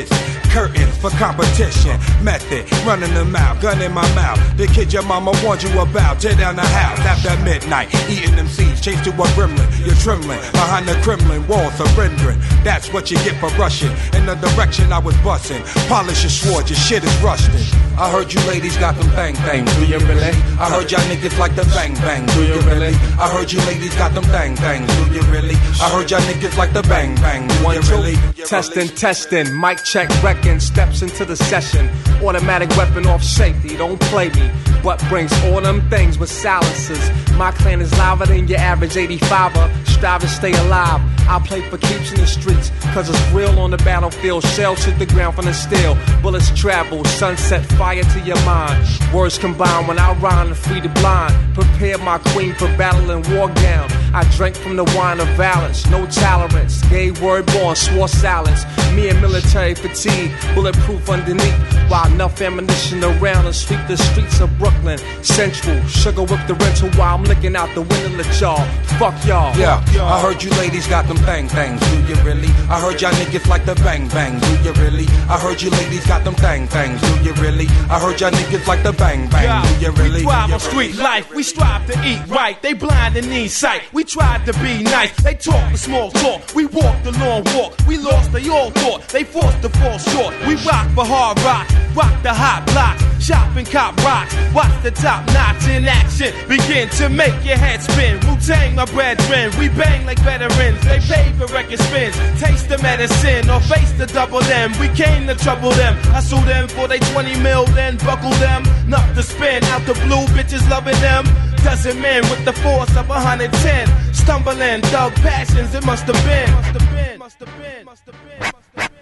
Curtains for competition. Method, running them out, gun in my mouth. The kid your mama warned you about. Tear down the house after midnight. Eating them seeds, chased to a gremlin. You're trembling behind the Kremlin wall, surrendering. That's what you get for rushing in the direction I was busting. Polish your sword, your shit is rusted. I heard you ladies got them bang bangs, do you really? I heard y'all niggas like the bang bang, do you really? I heard you ladies got them bang bangs, do you really? I heard y'all niggas like the bang bang, do you really? Testing, testing, mic check, wrecking, steps into the session. Automatic weapon off safety, don't play me. But brings all them things with silencers. My clan is louder than your average eighty-fiver. Strive to stay alive. I play for keeps in the streets, cause it's real on the battlefield. Shells hit the ground from the steel. Bullets travel, sunset fire to your mind. Words combine when I rhyme to free the blind. Prepare my queen for battle and war gown. I drank from the wine of violence, no tolerance. Gay word born, swore silence. Me and military fatigue, bulletproof underneath. While enough ammunition around to sweep the streets of Brooklyn Central. Sugar whip the rental while I'm looking out the window at y'all. Fuck y'all. Yeah, I heard you ladies got them bang bangs, do you really? I heard y'all niggas like the bang bang, do you really? I heard you ladies got them bang bangs, do you really? I heard y'all niggas like the bang bang, do you really? We thrive on street life, we strive to eat right. They blind and need sight, we tried to be nice. They talk the small talk, we walk the long walk. We lost, they all thought, they forced to fall short. We rock for hard rock, rock the hot blocks. Shop and cop rocks, watch the top notch in action. Begin to make your head spin. Wu-Tang, my brethren, we bang like veterans. They pay for record spins, taste the medicine or face the double M. We came to trouble them, I sue them for they twenty mil, then buckle them. Enough to spin out the blue, bitches loving them. Dozen men with the force of one hundred ten. Stumbling, thug passions, it must have been. Must have been, must have been, must have been, must have been.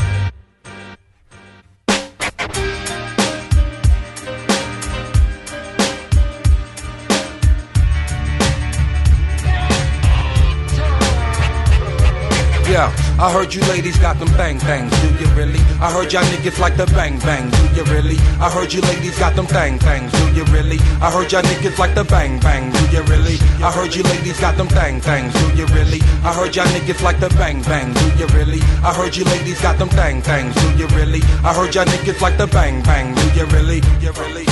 Yeah, I heard you ladies got them bang bangs, do you really? I heard y'all niggas like the bang bang, do you really? I heard you ladies got them bang bangs, do you really? I heard y'all niggas like the bang bang, do you really? I heard you ladies got them bang bangs, do you really? I heard y'all niggas like the bang bang, do you really? I heard you ladies got them bang bangs, do you really? I heard y'all niggas like the bang bang, do you really? Do you really?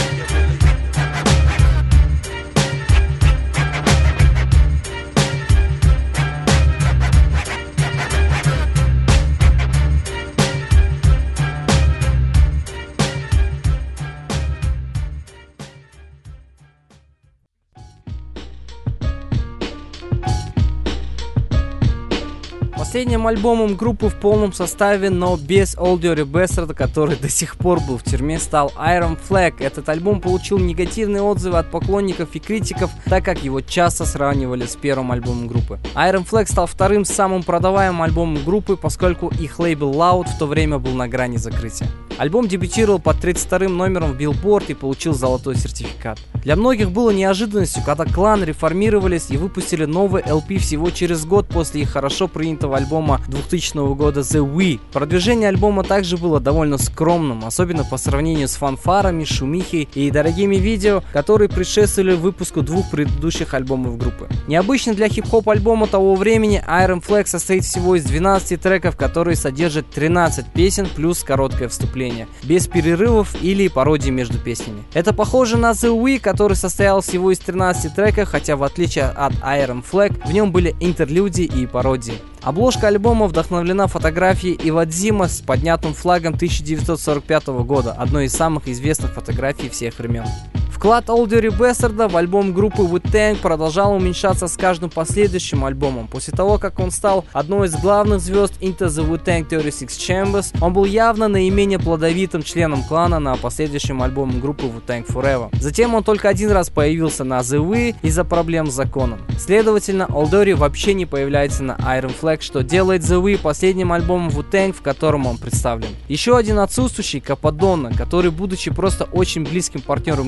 Последним альбомом группы в полном составе, но без Old Dirty Bastard, который до сих пор был в тюрьме, стал Iron Flag. Этот альбом получил негативные отзывы от поклонников и критиков, так как его часто сравнивали с первым альбомом группы. Iron Flag стал вторым самым продаваемым альбомом группы, поскольку их лейбл Loud в то время был на грани закрытия. Альбом дебютировал под тридцать вторым номером в Billboard и получил золотой сертификат. Для многих было неожиданностью, когда Клан реформировались и выпустили новый эл пи всего через год после их хорошо принятого альбома двухтысячного года The We. Продвижение альбома также было довольно скромным, особенно по сравнению с фанфарами, шумихой и дорогими видео, которые предшествовали выпуску двух предыдущих альбомов группы. Необычно для хип-хоп альбома того времени, Iron Flag состоит всего из двенадцати треков, которые содержат тринадцать песен плюс короткое вступление, без перерывов или пародий между песнями. Это похоже на The We, который состоял всего из тринадцати треков, хотя в отличие от Iron Flag в нем были интерлюдии и пародии. Обложка альбома вдохновлена фотографией Ивадзима с поднятым флагом тысяча девятьсот сорок пятого года, одной из самых известных фотографий всех времен. Вклад Old Dirty Bastard в альбом группы Wu-Tang продолжал уменьшаться с каждым последующим альбомом. После того, как он стал одной из главных звезд Into the Wu-Tang тридцать шесть Chambers, он был явно наименее плодовитым членом клана на последующем альбоме группы Wu-Tang Forever. Затем он только один раз появился на The We из-за проблем с законом. Следовательно, Old Dirty вообще не появляется на Iron Flag, что делает The We последним альбомом Wu-Tang, в котором он представлен. Еще один отсутствующий — Кападонна, который, будучи просто очень близким партнером группы на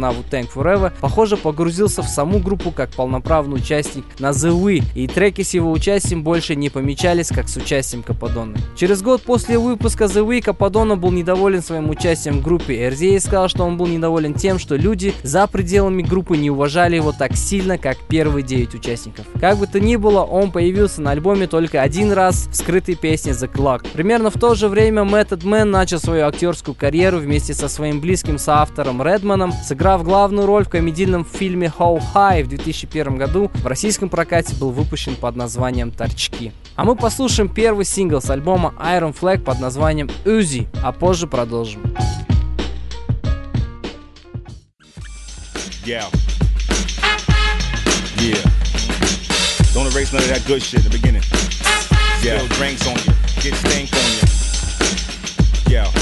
на Wu-Tang Forever, похоже, погрузился в саму группу как полноправный участник на The We, и треки с его участием больше не помечались как с участием Кападоны. Через год после выпуска The We Кападона был недоволен своим участием в группе. эр зет эй сказал, что он был недоволен тем, что люди за пределами группы не уважали его так сильно, как первые девять участников. Как бы то ни было, он появился на альбоме только один раз в скрытой песне The Clock. Примерно в то же время Method Man начал свою актерскую карьеру вместе со своим близким соавтором Редманом, сыграв главную роль в комедийном фильме How High в две тысячи первом году. В российском прокате был выпущен под названием «Торчки». А мы послушаем первый сингл с альбома Iron Flag под названием Uzi, а позже продолжим. Yeah. Yeah. Don't erase none of that good shit in the beginning. Yeah. Spill drinks on you. Get stank on you. Yeah.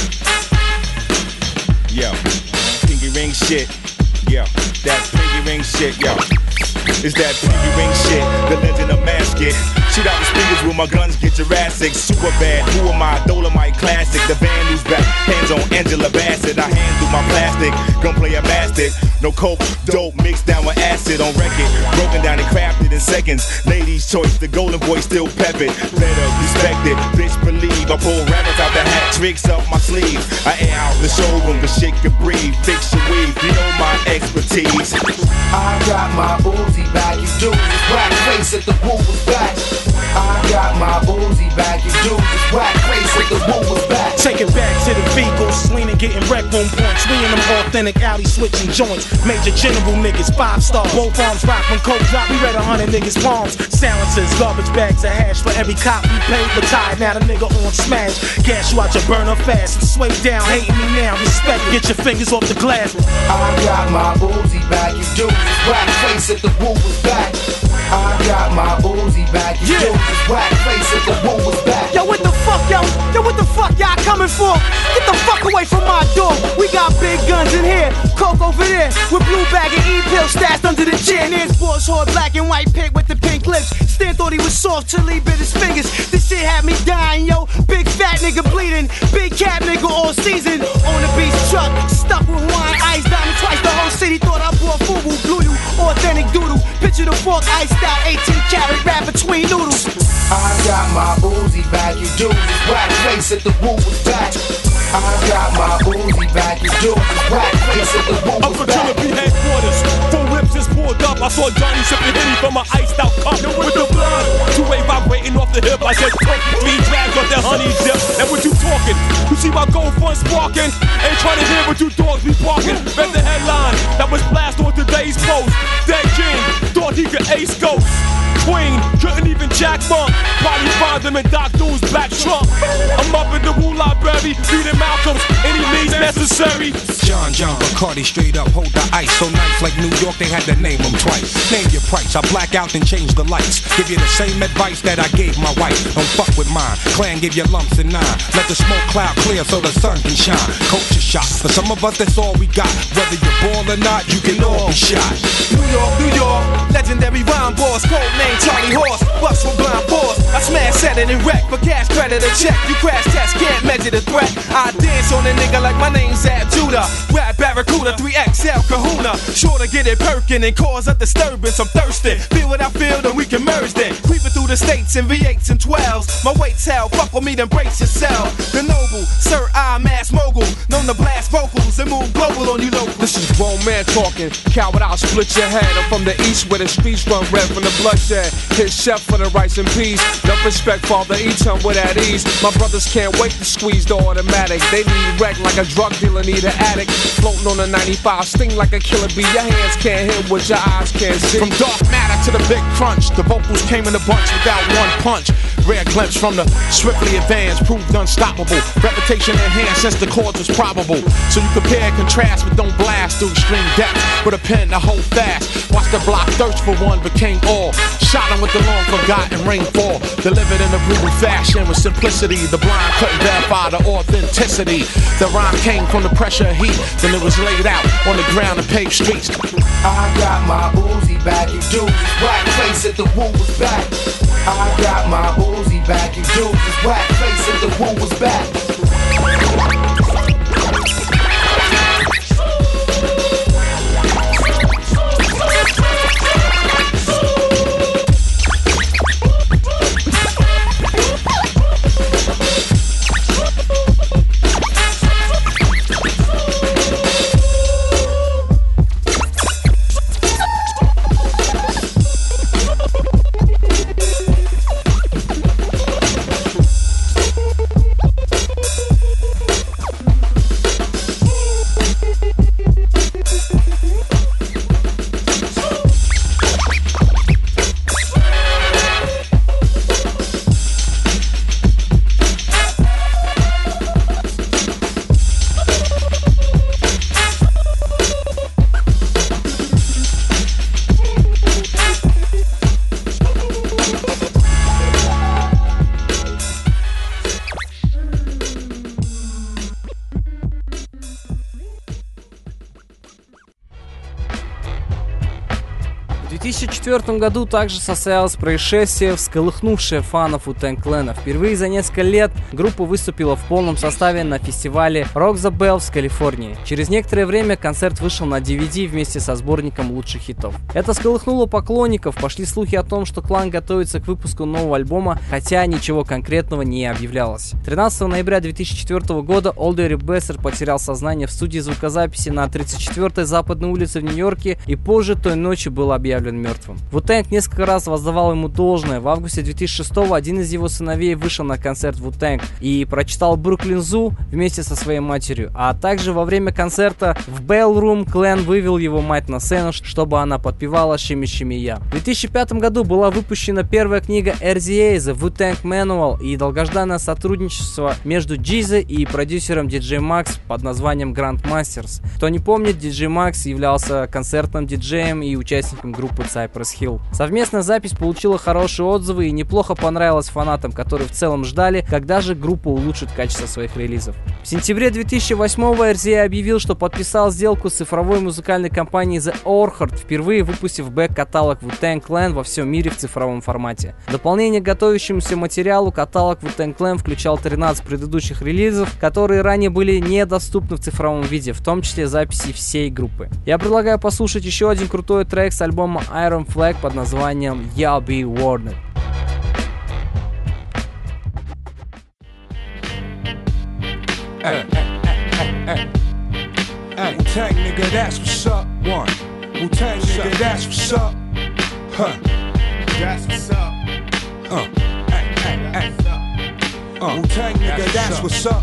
Yeah. Pinky ring shit. Yeah. That pinky ring shit. Yeah. It's that pinky ring shit. The legend of Masket. Shoot out the speakers with my guns, get Jurassic. Super bad, who am I? Dolomite classic. The band who's back, hands on Angela Bassett. I handle my plastic, gunplay a bastard. No coke, dope, mixed down with acid on record. Broken down and crafted in seconds. Ladies' choice, the golden boy still pep it. Better respect it, bitch believe. I pull rabbits out the hat, tricks up my sleeves. I air out the showroom, the shit can breathe. Fix your weave, you know my expertise. I got my Uzi back, you do this whack face at the woo was back. I got my Uzi back, you do this whack face at the woo was back. Take it back to the vehicles, leaning, getting wrecked on points. We in them authentic alley switching joints. Major general niggas, five star. Both arms rock when coke drop. We read a hundred niggas' palms. Silencers, garbage bags of hash for every cop we paid. Retired, now the nigga on smash. Gas you out your burner fast and sway down. Hating me now, respect. Get your fingers off the glass. I got my Uzi back, you do this whack face at the woo was back. I got my Uzi back, you yeah. do this whack face at the woo was back. Yo, what the fuck, yo? Yo, what the fuck y'all coming for? Get the fuck away from my door. We got big guns in here, coke over there, with blue bag and E-pill stashed under the chair. And there's Boss Horde, black and white pig with the pink lips. Stan thought he was soft till he bit his fingers. This shit had me dying, yo. Big fat nigga bleeding, big cat nigga all season. On the beach truck, stuck with wine, ice, diamond twice. The whole city thought I bought FUBU, blew you, authentic doodle. Picture the fork, iced out, eighteen carat wrap between noodles. I got my Uzi back, you do this whack face at the woo was back. I got my Uzi back, you do this whack face at the woo was back. Up for Killer B headquarters, four whips just pulled up. I saw Johnny sipping Henny from my iced out cup with the blood. Two-way vibrating off the hip, I said twenty-three drags off that honey dip. And what you talking? You see my gold front sparking? Ain't trying to hear what you dogs be barking. Read the headline that was blasted on today's post. Dead King thought he could ace ghosts. Queen couldn't even jack bump. Probably find them in Doc Doom's black trunk. I'm up in the Wu Library, reading Malcolm's any means necessary. John John Bacardi straight up hold the ice. So nice like New York, they had to name them twice. Name your price, I black out and change the lights. Give you the same advice that I gave my wife. Don't fuck with mine. Clan give you lumps and nine. Let the smoke cloud clear so the sun can shine. Culture shock. For some of us, that's all we got. Whether you're born or not, you can all be shot. New York, New York, legendary rhyme boss, code name Charlie Horse, bust with blind force. I smash, set it and wreck, for cash credit a check. You crash test, can't measure the threat. I dance on a nigga like my name's Ab Judah. Rap Barracuda, three X L Kahuna. Sure to get it perkin' and cause a disturbance. I'm thirsty, feel what I feel, then we can merge then. Creeping through the states in V eights and twelves. My weight's hell, fuck with me, then brace yourself. The noble, Sir I Mass Mogul, known to blast vocals and move global on you local. This is grown man talking, coward, I'll split your head. I'm from the east where the streets run red from the bloodshed. Hit chef for the rice and peas. Enough respect, Father Eton with at ease. My brothers can't wait to squeeze the automatic. They need wreck like a drug dealer need an addict. Floating on a ninety-five, sting like a killer bee. Your hands can't hit what your eyes can't see. From dark matter to the big crunch, the vocals came in a bunch without one punch. Rare glimpse from the swiftly advanced, proved unstoppable. Reputation enhanced since the chords was probable. So you compare and contrast, but don't blast through extreme depth. With a pen to hold fast. Watch the block thirst for one, became all. Shot him with the long forgotten rainfall. Delivered in a brutal fashion with simplicity. The blind couldn't verify the authenticity. The rhyme came from the pressure of heat. Then it was laid out on the ground and paved streets. I got my Uzi back, you do this whack face at the woo was back. I got my Uzi back, you do this whack face at the woo was back. В две тысячи четвёртом году также состоялось происшествие, всколыхнувшее фанов Wu-Tang Clan. Впервые за несколько лет группа выступила в полном составе на фестивале Rock the Bells в Калифорнии. Через некоторое время концерт вышел на ди ви ди вместе со сборником лучших хитов. Это всколыхнуло поклонников, пошли слухи о том, что клан готовится к выпуску нового альбома, хотя ничего конкретного не объявлялось. тринадцатого ноября две тысячи четвёртого года Олдери Бессер потерял сознание в студии звукозаписи на тридцать четвёртой Западной улице в Нью-Йорке и позже той ночью был объявлен мертвым. Wu-Tang несколько раз воздавал ему должное. В августе две тысячи шестого один из его сыновей вышел на концерт Wu-Tang и прочитал Brooklyn Zoo вместе со своей матерью. А также во время концерта в Bellroom Clan вывел его мать на сцену, чтобы она подпевала «Шими Шими Я». В две тысячи пятом году была выпущена первая книга эр зет эй The Wu-Tang Manual и долгожданное сотрудничество между Джизой и продюсером ди джей Max под названием Grandmasters. Кто не помнит, ди джей Max являлся концертным диджеем и участником группы Cypress Hill. Совместная запись получила хорошие отзывы и неплохо понравилась фанатам, которые в целом ждали, когда же группа улучшит качество своих релизов. В сентябре две тысячи восьмого эр зет эй объявил, что подписал сделку с цифровой музыкальной компанией The Orchard, впервые выпустив бэк-каталог Wu-Tang Clan во всем мире в цифровом формате. В дополнение к готовящемуся материалу каталог Wu-Tang Clan включал тринадцать предыдущих релизов, которые ранее были недоступны в цифровом виде, в том числе записи всей группы. Я предлагаю послушать еще один крутой трек с альбома Iron Flag под названием Y'all Be Warned. Hey, hey, hey, hey. Wu-Tang nigga, that's what's up. One. Wu-Tang nigga, that's what's up. Huh. That's what's up. Uh. Hey, hey, hey. Uh. Wu-Tang nigga, that's what's up.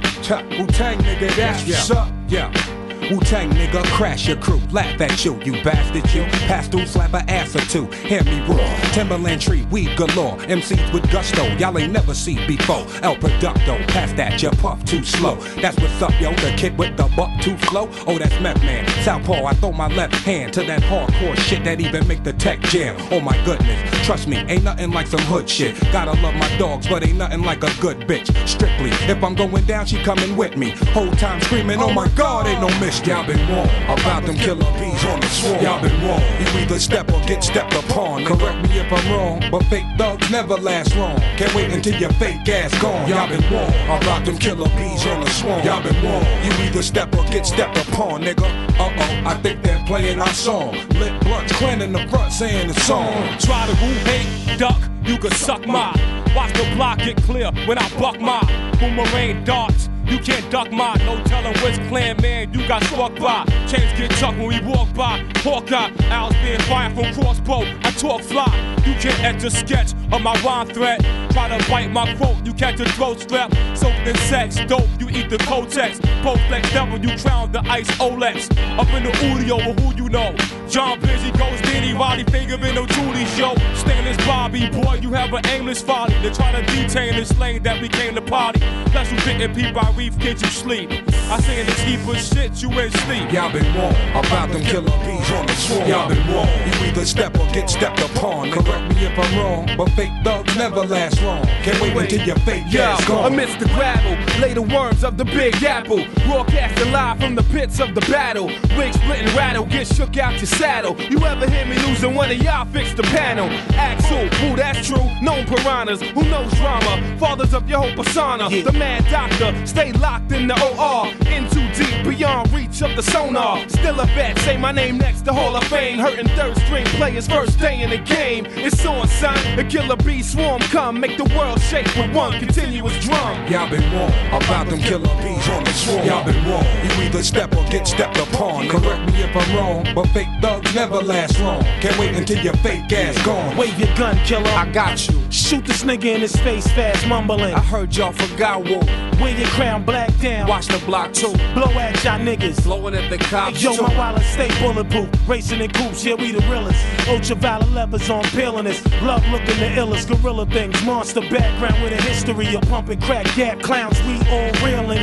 Wu-Tang nigga, that's what's up. Yeah. Wu-Tang nigga, crash your crew, laugh at you, you bastard you. Pass through, slap a ass or two, hear me roar. Timberland tree, weed galore, M Cs with gusto, y'all ain't never seen before. El Producto, pass that, you puff too slow. That's what's up, yo, the kid with the buck too slow. Oh, that's Meth Man, Southpaw, I throw my left hand to that hardcore shit that even make the tech jam. Oh my goodness, trust me, ain't nothing like some hood shit. Gotta love my dogs, but ain't nothing like a good bitch. Strictly, if I'm going down, she coming with me. Whole time screaming, oh my God, ain't no miss. Y'all been wrong about them killer bees on the swarm. Y'all been wrong. You either step or get stepped upon. Correct me if I'm wrong, but fake thugs never last long. Can't wait until your fake ass gone. Y'all been wrong about them killer bees on the swarm. Y'all been wrong. You either step or get stepped upon, nigga. Uh oh, I think they're playing our song. Lit blunts, clan in the front saying the song. Try to woo, hate, duck, you can suck my. Watch the block get clear when I buck my boomerang darts. You can't duck mine, no telling which clan man you got struck by. Chains get tucked when we walk by. Hawkeye, owls being fired from crossbow. I talk fly, you can't etch a sketch of my rhyme thread. Try to bite my quote, you catch a throat strap. Soaked in sex, dope, you eat the Kotex. Post-flex devil, you crown the ice Olex. Up in the audio, with who you know. John Busy, Ghost, Danny, Roddy, Finger in no Julie show. Stainless Bobby, boy, you have an aimless folly. They're trying to detain this lane that we came to party. Plus you didn't peep by reef, kid, you sleep. I say in the deeper shit, you ain't sleep. Y'all been wrong about them killer bees on the swarm. Y'all been wrong. You either step or get stepped upon. Correct me if I'm wrong, but fake thugs never last long. Can't wait until your fake ass gone. Amidst the gravel, lay the worms of the Big Apple. Broadcasting live from the pits of the battle. Wig split and rattle, get shook out your saddle. You ever hear me losing one of y'all, fix the panel. Ask who, who that's true, known piranhas, who knows drama. Fathers of your whole persona, yeah. The mad doctor, stay locked in the O R. In too deep, beyond reach of the sonar. Still a vet, say my name next to Hall of Fame. Hurting third string players first day in the game. It's on, son, the killer bee swarm come. Make the world shake with one continuous drum. Y'all been wrong about them killer bees on the swarm. Y'all been wrong. You either step or get stepped upon. Correct me if I'm wrong, but fake thugs never last long. Can't wait until your fake ass gone. Wave your gun, killer. I got you. Shoot this nigga in his face fast, mumbling. I heard y'all forgot what. Wear your crown black down. Watch the block too. Blow at y'all niggas. Blowing at the cops. Yo, too. my wallet stay bulletproof. Racing in coops, yeah, we the realest. Ultraviolet levers on peeling this. Love looking the illest. Gorilla things. Monster background with a history of pumping crack gap clowns. We all real in here.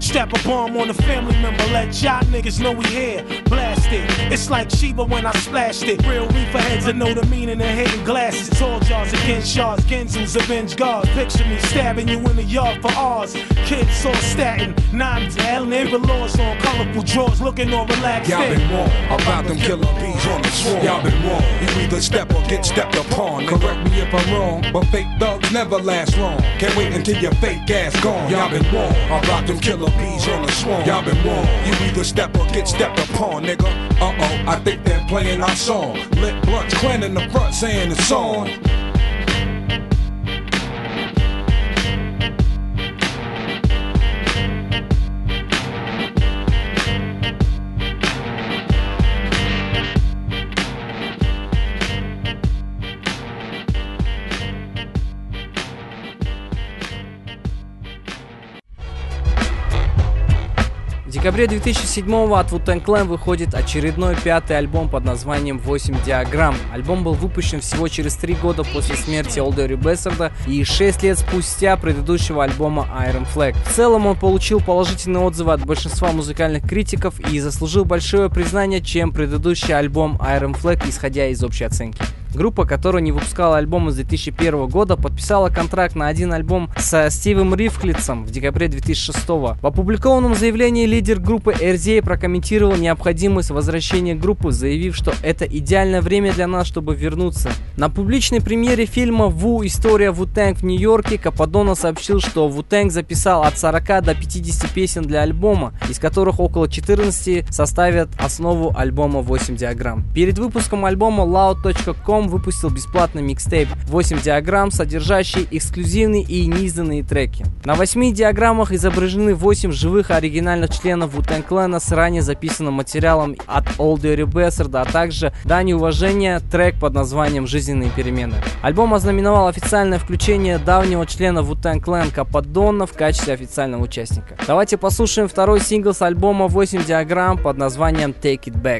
Strap a bomb on a family member, let y'all niggas know we here. Blast it, it's like Sheba when I splashed it. Real reefer heads that know the meaning of hidden glasses. Tall jars against shards, Genzoos avenge guards. Picture me stabbing you in the yard for ours. Kids all statin, nine telling every laws on colorful drawers, looking all relaxed. Y'all been wrong about them killer bees on the swarm. Y'all been wrong. You either step or get stepped upon. Correct me if I'm wrong, but fake thugs never last long. Can't wait until your fake ass gone. Y'all been wrong about them killer bees on the swarm. Y'all been wrong. You either step or get stepped upon, nigga. Uh oh, I think they're playing our song. Lit blunts, clan in the front saying it's on. В декабре две тысячи седьмого от Wu-Tang Clan выходит очередной пятый альбом под названием восемь диаграмм. Альбом был выпущен всего через три года после смерти Old Dirty Bastard и шесть лет спустя предыдущего альбома Iron Flag. В целом он получил положительные отзывы от большинства музыкальных критиков и заслужил большое признание, чем предыдущий альбом Iron Flag, исходя из общей оценки. Группа, которая не выпускала альбом с две тысячи первого года, подписала контракт на один альбом со Стивом Рифклицем в декабре две тысячи шестого. В опубликованном заявлении лидер группы эр зет эй прокомментировал необходимость возвращения группы, заявив, что это идеальное время для нас, чтобы вернуться. На публичной премьере фильма «Ву. История Wu-Tang» в Нью-Йорке Кападона сообщил, что Wu-Tang записал от сорока до пятидесяти песен для альбома, из которых около четырнадцати составят основу альбома восемь диаграмм. Перед выпуском альбома Loud точка ком выпустил бесплатный микстейп восемь диаграмм, содержащий эксклюзивные и неизданные треки. На восьми диаграммах изображены восемь живых оригинальных членов Wu-Tang Clan с ранее записанным материалом от Old Dirty Bastard, а также дань уважения трек под названием «Жизненные перемены». Альбом ознаменовал официальное включение давнего члена Wu-Tang Clan Кападона в качестве официального участника. Давайте послушаем второй сингл с альбома восемь диаграмм под названием Take It Back.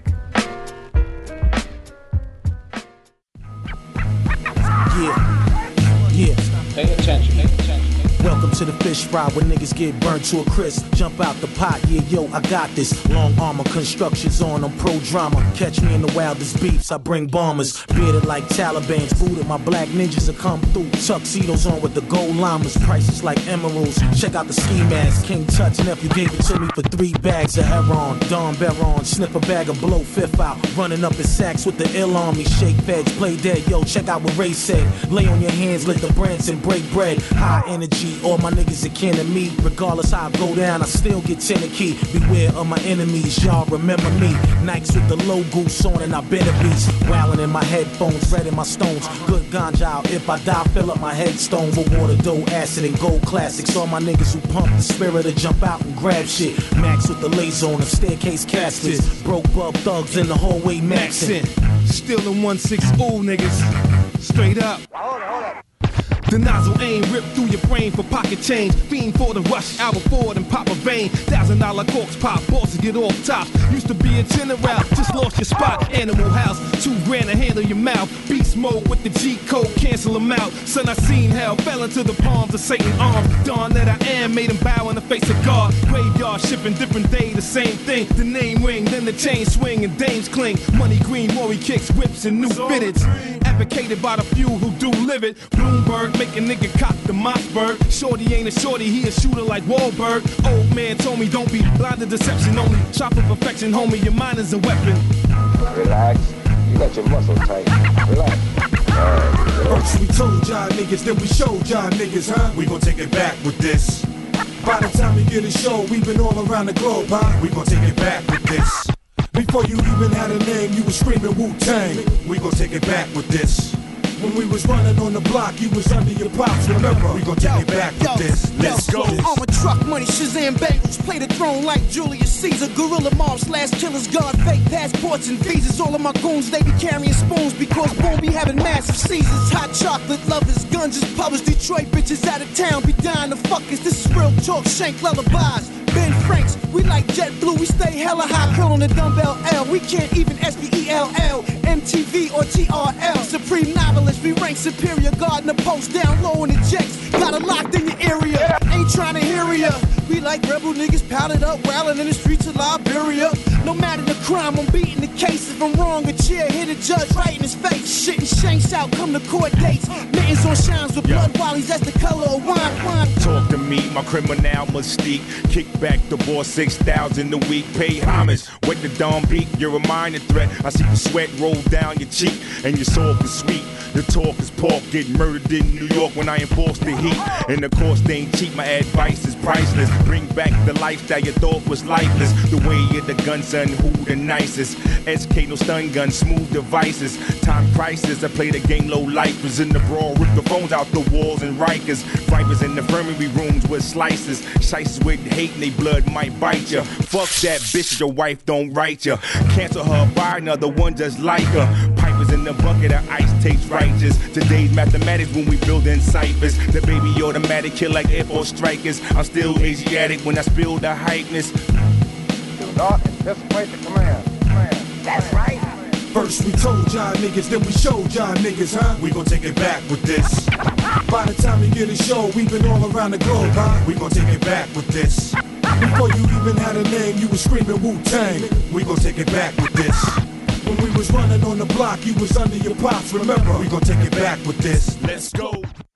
Yeah, yeah. Pay attention, pay attention. Welcome to the fish fry where niggas get burnt to a crisp. Jump out the pot, yeah, yo, I got this. Long armor, constructions on, I'm pro drama. Catch me in the wildest beefs, I bring bombers. Bearded like Taliban's, booted, my black ninjas will come through. Tuxedos on with the gold llamas, prices like emeralds. Check out the ski mask, King Tut nephew gave it to me for three bags of heroin. Don Baron, snip a bag of blow, fifth out. Running up his sacks with the ill on me. Shake feds, play dead, yo, check out what Ray said. Lay on your hands, lick the brands and break bread. High energy. All my niggas are kin to me. Regardless how I go down, I still get tenant key. Beware of my enemies, y'all remember me. Nikes with the low goose on and I been a beast. Wildin' in my headphones, red in my stones. Good ganja out, if I die, fill up my headstone with water, dough, acid, and gold classics. All my niggas who pump the spirit to jump out and grab shit. Max with the laser on the staircase caskets. Broke bub thugs in the hallway maxin'. Still in one six ooh niggas. Straight up. Hold on, hold on. The nozzle aim ripped through your brain for pocket change. Fiend for the rush, Albert Ford and pop a vein. Thousand dollar corks pop, bosses get off top. Used to be a tenor route, just lost your spot. Animal house, two grand to handle your mouth. Beast mode with the G code, cancel them out. Son, I seen hell, fell into the palms of Satan's arms. Dawn that I am, made him bow in the face of God. Graveyard shipping, different day, the same thing. The name ring, then the chain swing and dames cling. Money green, Rory kicks, whips and new fitteds. Advocated by the few who do live it. Bloomberg, make a nigga cock the Mossberg. Shorty ain't a shorty, he a shooter like Wahlberg. Old man told me don't be blind to deception only. Shop for perfection, homie, your mind is a weapon. Relax, you got your muscle tight. Relax. First we told y'all niggas, then we showed y'all niggas, huh? We gon' take it back with this. By the time we get a show, we been all around the globe, huh? We gon' take it back with this. Before you even had a name, you was screaming Wu-Tang. We gon' take it back with this. When we was running on the block, you was under your pops, remember? We gon' take yo, it back yo, with this. Let's yo, go. I'm a truck money, Shazam Bengals. Play the throne like Julius Caesar. Gorilla mob slash killers, guard fake passports and visas. All of my goons, they be carrying spoons because boom, be having massive seasons. Hot chocolate lovers, guns just published. Detroit bitches out of town, be dying to fuck us. This is real talk, shank lullabies. Ben Franks, we like JetBlue, we stay hella high, curl on the dumbbell L. We can't even S P E L L, M T V or T R L. Supreme novelist, we rank superior, guarding the post down low in the jets. Got it locked in your area, ain't trying to hear inferior. We like rebel niggas powdered up, wildin' in the streets of Liberia. No matter the crime, I'm beating the case. If I'm wrong, a chair hit a judge right in his face. Shitting shanks out, come to court dates. Mittens on shines with blood wallies, that's the color of wine. wine. Talk to me, my criminal mystique. Kick back the boss six thousand a week. Pay homage, wake the dawn beat. You're a minor threat. I see the sweat roll down your cheek, and your soul is sweet. The talk is pork, get murdered in New York when I enforce the heat. And the cost ain't cheap, my advice is priceless. Bring back the lifestyle you thought was lifeless. The way of the gun, son, who the nicest? S K, no stun gun, smooth devices. Time crisis, I play the game low lifers. In the brawl, rip the phones out the walls and Rikers. Vipers in the infirmary rooms with slices. Shices with hate and they blood might bite ya. Fuck that bitch, your wife don't write ya. Cancel her, buy another one just like her. Pipers in the bucket of ice tastes righteous. Today's mathematics when we building ciphers. The baby automatic kill like Air Force strikers. I'm still Asiatic when I spill the hypeness. Do not anticipate the command. command. That's right. First we told y'all niggas, then we showed y'all niggas, huh? We gon' take it back with this. By the time you get a show, we've been all around the globe, huh? We gon' take it back with this. Before you even had a name, you was screaming Wu-Tang. We gon' take it back with this. When we was running on the block, you was under your pops, remember? We gon' take it back with this. Let's go.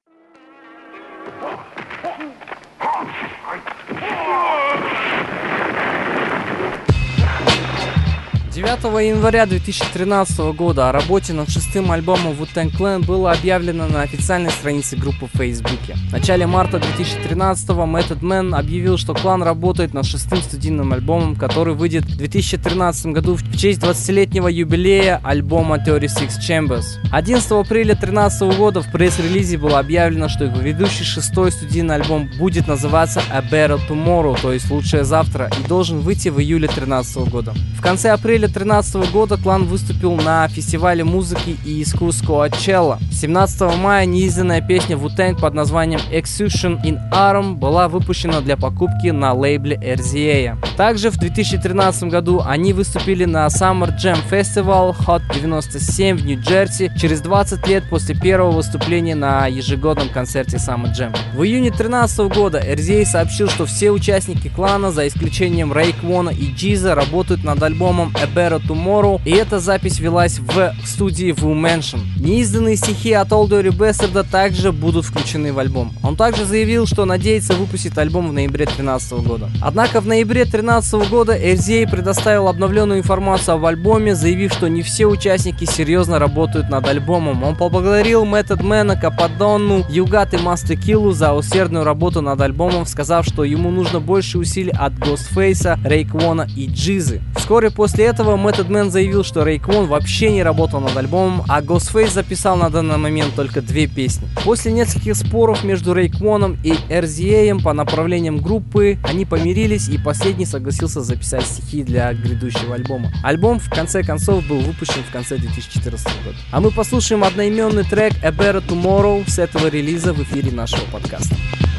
девятого января две тысячи тринадцатого года о работе над шестым альбомом Wu-Tang Clan было объявлено на официальной странице группы в Фейсбуке. В начале марта две тысячи тринадцатого Method Man объявил, что клан работает над шестым студийным альбомом, который выйдет в две тысячи тринадцатом году в честь двадцатилетнего юбилея альбома тридцать шесть Chambers. одиннадцатого апреля две тысячи тринадцатого года в пресс-релизе было объявлено, что его ведущий шестой студийный альбом будет называться A Better Tomorrow, то есть Лучшее завтра, и должен выйти в июле две тысячи тринадцатого года. В конце апреля две тысячи тринадцатого года клан выступил на фестивале музыки и искусств Coachella. семнадцатого мая неизданная песня Wu-Tang под названием Execution in Arm была выпущена для покупки на лейбле эр зет эй. Также в две тысячи тринадцатом году они выступили на Summer Jam Festival Hot девяносто семь в Нью-Джерси через двадцать лет после первого выступления на ежегодном концерте Summer Jam. В июне две тысячи тринадцатого года эр зет эй сообщил, что все участники клана, за исключением Рейквона и Джиза, работают над альбомом A Better Tomorrow, и эта запись велась в студии Wu Mansion. Неизданные стихи от Old Dirty Bastard также будут включены в альбом. Он также заявил, что надеется выпустить альбом в ноябре две тысячи тринадцатого года. Однако в ноябре две тысячи тринадцатого года эр зет эй предоставил обновленную информацию об альбоме, заявив, что не все участники серьезно работают над альбомом. Он поблагодарил Method Man, Кападонну, Югат и Master Killу за усердную работу над альбомом, сказав, что ему нужно больше усилий от Ghostface, Рейквона и Джизы. Вскоре после этого Method Man заявил, что Рейквон вообще не работал над альбомом, а Ghostface записал на данный момент только две песни. После нескольких споров между Рейквоном и эр зет эй по направлениям группы, они помирились, и последний согласился записать стихи для грядущего альбома. Альбом в конце концов был выпущен в конце две тысячи четырнадцатого года. А мы послушаем одноименный трек A Better Tomorrow с этого релиза в эфире нашего подкаста.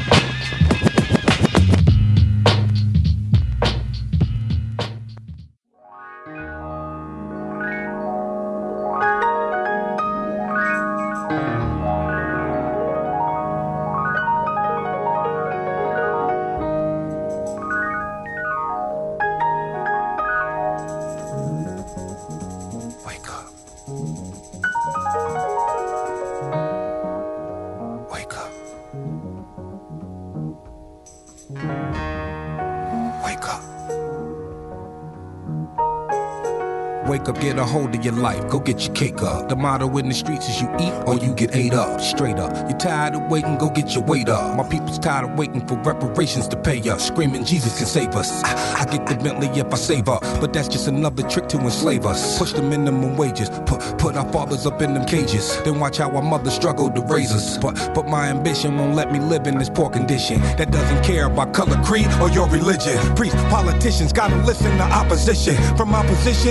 Wake up, get a hold of your life, go get your cake up. The motto in the streets is you eat or you get ate up. Straight up, you tired of waiting, go get your weight up. My people's tired of waiting for reparations to pay us. Screaming Jesus can save us. I, I get the Bentley if I save up, but that's just another trick to enslave us. Push the minimum wages, put, put our fathers up in them cages. Then watch how our mothers struggle to raise us. But, but my ambition won't let me live in this poor condition that doesn't care about color, creed, or your religion. Priests, politicians gotta listen to opposition. From our position, we still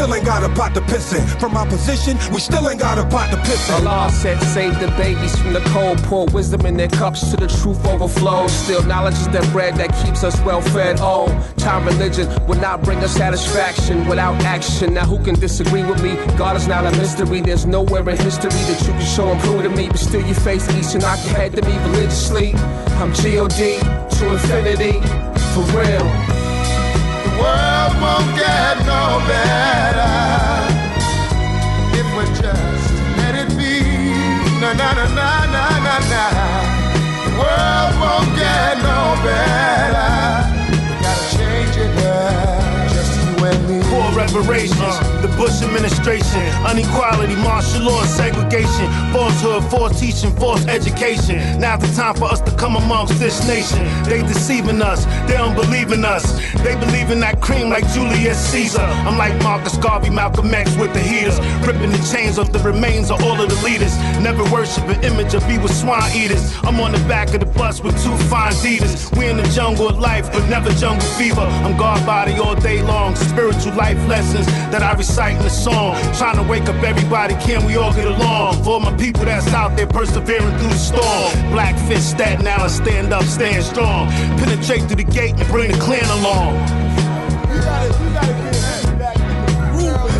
still ain't got a pot to piss in. From our position, we still ain't got a pot to piss in. Allah said, save the babies from the cold, pour wisdom in their cups to the truth overflows. Still, knowledge is the bread that keeps us well fed. Oh, time religion will not bring us satisfaction without action. Now, who can disagree with me? God is not a mystery. There's nowhere in history that you can show and prove to me. But still, you face each and knock your head to me religiously. I'm G O D to infinity, for real. The world won't get no better if we just let it be. Na na na na na na na. The world won't get no better. We gotta change it now, just you and me. Poor reparations, uh. the Bush administration, unequality, martial law, segregation, falsehood, forced teaching, forced education. Now's the time for us to come amongst this nation. They deceiving us, they don't believe in us. They believe in that cream like Julius Caesar. I'm like Marcus Garvey, Malcolm X with the heaters, ripping the chains off the remains of all of the leaders. Never worship an image or be with swine eaters. I'm on the back of the bus with two fine Adidas. We in the jungle of life, but never jungle fever. I'm God body all day long, spiritual life lessons that I recite in the song. Trying to wake up everybody, can we all get along? For all my people that's out there persevering through the storm. Black fist, Staten Island, stand up, stand strong. Penetrate through the gate and bring the clan along. You gotta, you gotta get back in the groove.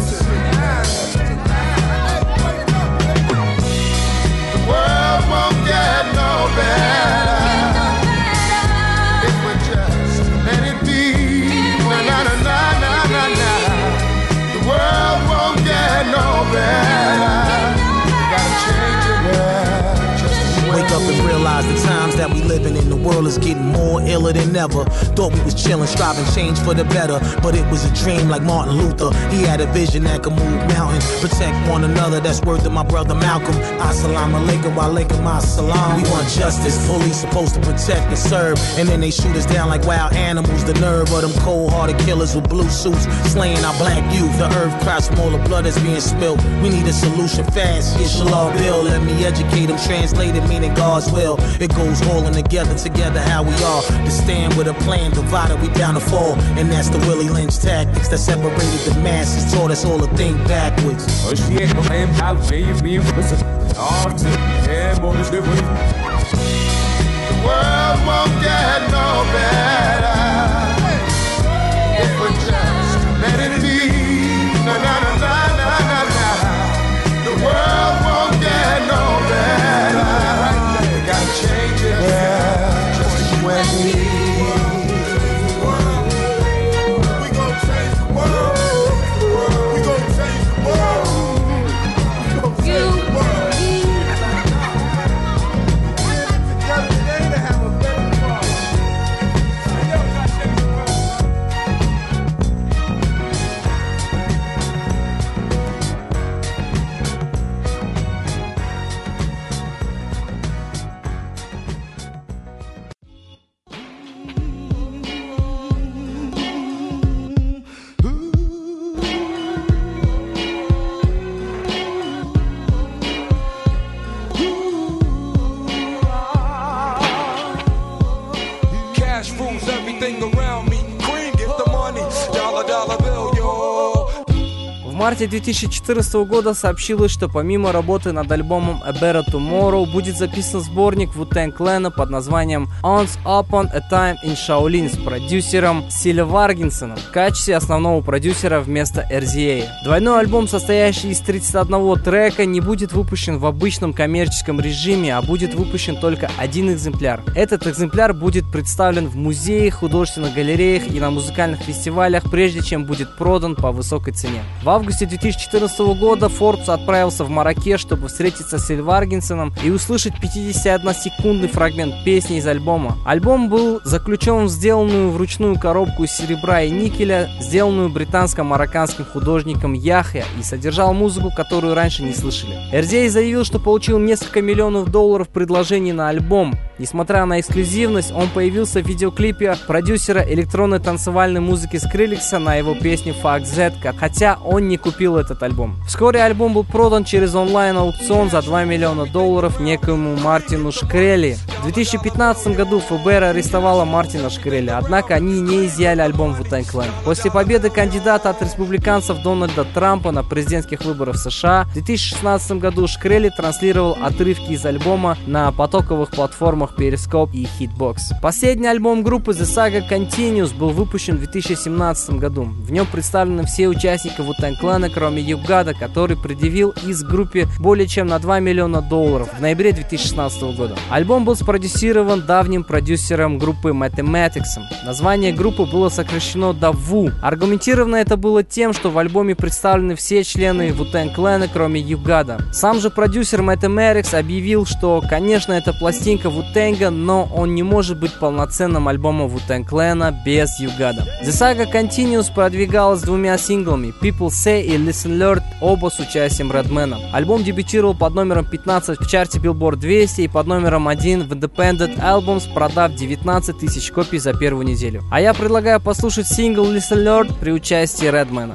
The world won't get no better if we just let it be. Na na na na na na. The world won't get no better. Gotta change it now. Wake up and realize the times that we living in, the world is getting more iller than ever. Thought we was chilling, striving change for the better, but it was a dream like Martin Luther. He had a vision that could move mountains, protect one another. That's word to my brother Malcolm. Assalamu alaikum wa alaikum assalam. We want justice, police supposed to protect and serve, and then they shoot us down like wild animals. The nerve of them cold-hearted killers with blue suits slaying our black youth. The earth cries from all the blood that's being spilled. We need a solution fast. Inshallah, Bill, let me educate them, translate it, meaning God's will. It goes holding together, together how we are. To stand with a plan, divided we bound to fall. And that's the Willie Lynch tactics that separated the masses, taught us all to think backwards. Oh shit, I'm out, baby, me, listen. Oh, yeah, boy, this different. The world won't get no better if we just let it be. Na na na na na na na. The world won't get no better. We gotta change it, yeah, just you and me. We gon' change the world. We gon' change the world. We gon' change the world. Together today to have a better world. Cash rules everything around me. Cream, get the money. Dollar, dollar bill, yo. В марте две тысячи четырнадцатого года сообщилось, что помимо работы над альбомом A Better Tomorrow будет записан сборник Wu-Tang Clan под названием Once Upon a Time in Shaolin с продюсером Силе Варгинсоном в качестве основного продюсера вместо эр зет эй. Двойной альбом, состоящий из тридцати одного трека, не будет выпущен в обычном коммерческом режиме, а будет выпущен только один экземпляр. Этот экземпляр будет представлен в музеях, художественных галереях и на музыкальных фестивалях, прежде чем будет продан по высокой цене. В августе две тысячи четырнадцатого года Forbes отправился в Марракеш, чтобы встретиться с Силь Варгинсоном и услышать пятидесятиодносекундный фрагмент песни из альбома. Альбом был заключен в сделанную вручную коробку из серебра и никеля, сделанную британско-марокканским художником Яхья, и содержал музыку, которую раньше не слышали. эр зет эй заявил, что получил несколько миллионов долларов предложений на альбом. Несмотря на эксклюзивность, он появился в видеоклипе продюсера электронной танцевальной музыки Скриллекса на его песню Fuck Z, хотя он не купил этот альбом. Вскоре альбом был продан через онлайн-аукцион за два миллиона долларов некоему Мартину Шкрелли. В две тысячи пятнадцатом году эф бэ эр арестовала Мартина Шкрелли, однако они не изъяли альбом Wu-Tang Clan. После победы кандидата от республиканцев Дональда Трампа на президентских выборах в США в две тысячи шестнадцатом году Шкрелли транслировал отрывки из альбома на потоковых платформах Periscope и Hitbox. Последний альбом группы The Saga Continues был выпущен в две тысячи семнадцатом году. В нем представлены все участники Wu-Tang Clan, кроме Югада, который предъявил из группе более чем на два миллиона долларов в ноябре две тысячи шестнадцатого года. Альбом был спродюсирован давним продюсером группы Mathematics. Название группы было сокращено до Wu. Аргументировано это было тем, что в альбоме представлены все члены Wu-Tang Clan, кроме Югада. Сам же продюсер Mathematics объявил, что, конечно, это пластинка Wu-Tang, но он не может быть полноценным альбомом Wu-Tang Clan без Югада. The Saga Continues продвигалась двумя синглами People Say и Listen Learn, оба с участием Redmana. Альбом дебютировал под номером пятнадцать в чарте Billboard двести и под номером один в Independent Albums, продав девятнадцать тысяч копий за первую неделю. А я предлагаю послушать сингл Listen Learn при участии Redmana.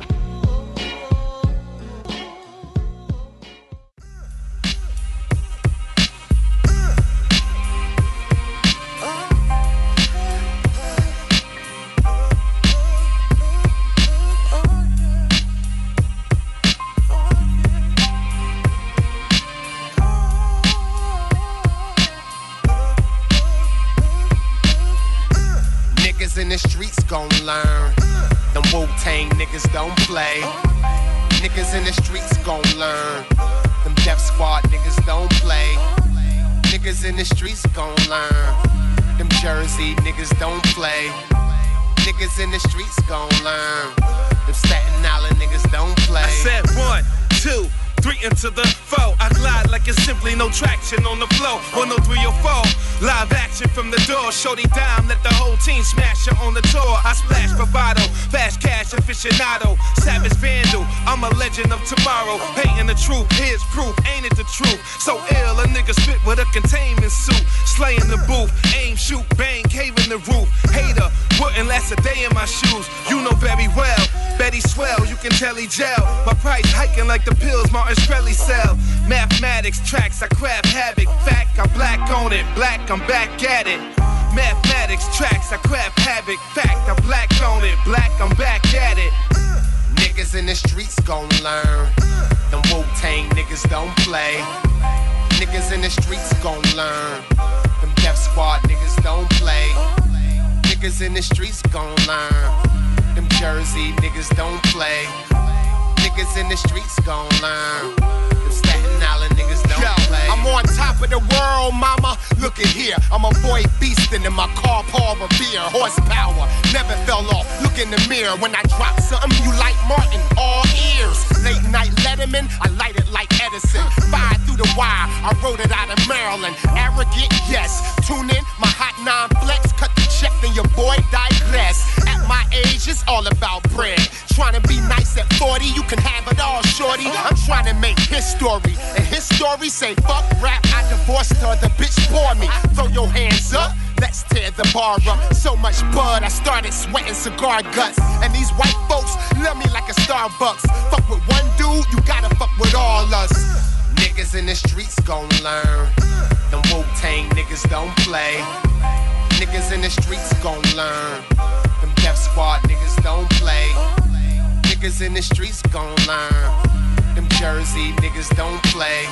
In the streets gon' learn. Them Wu-Tang niggas don't play. Niggas in the streets gon' learn. Them Def Squad niggas don't play. Niggas in the streets gon' learn. Them Jersey niggas don't play. Niggas in the streets gon' learn. Them Staten Island niggas don't play. I said one, two, three into the four. I glide like it's simply no traction on the floor. one oh three oh four, live action from the door. Shorty dime, let the whole team smash her on the tour. I splash bravado, fast cash aficionado, savage vandal. I'm a legend of tomorrow, painting the truth. Here's proof, ain't it the truth? So ill, a nigga spit with a containment suit, slaying the booth, aim, shoot, bang, cave in the roof. Hater, wouldn't last a day in my shoes. You know very well, Betty swell, you can tell he gel. My price hiking like the pills Martin Shkreli sell. Mathematics tracks, I craft havoc. Fact, I black on it. Black, I'm back at it. Mathematics tracks, I craft havoc. Fact, I black on it. Black, I'm back at it. Niggas in the streets gon' learn. Them Wu-Tang niggas don't play. Niggas in the streets gon' learn. Them Def Squad niggas don't play. Niggas in the streets gon' learn. Them Jersey niggas don't play. Niggas in the streets gon' learn. Them Staten Island niggas don't Yo, play. I'm on top of the world, mama. Look at here. I'm a boy beastin' in my car, Paul Revere. Horsepower, never fell off. Look in the mirror. When I drop something, you like Martin, all ears. Late night Letterman, I light it like Edison. Fire through the wire, I wrote it out of Maryland. Arrogant, yes. Tune in, my hot nine flex. Cut the check, then your boy digress. At my age, it's all about bread. Trying to be nice at forty, you can have it all, shorty. I'm trying to make his story, and his story say fuck rap. I divorced her, the bitch bore me. Throw your hands up, let's tear the bar up. So much bud, I started sweating cigar guts. And these white folks love me like a Starbucks. Fuck with one dude, you gotta fuck with all us. Niggas in the streets gon' learn. Them Wu-Tang niggas don't play. Niggas in the streets gon' learn. Them Def Squad niggas don't play. Niggas in the streets gon' learn. Them Jersey niggas don't play.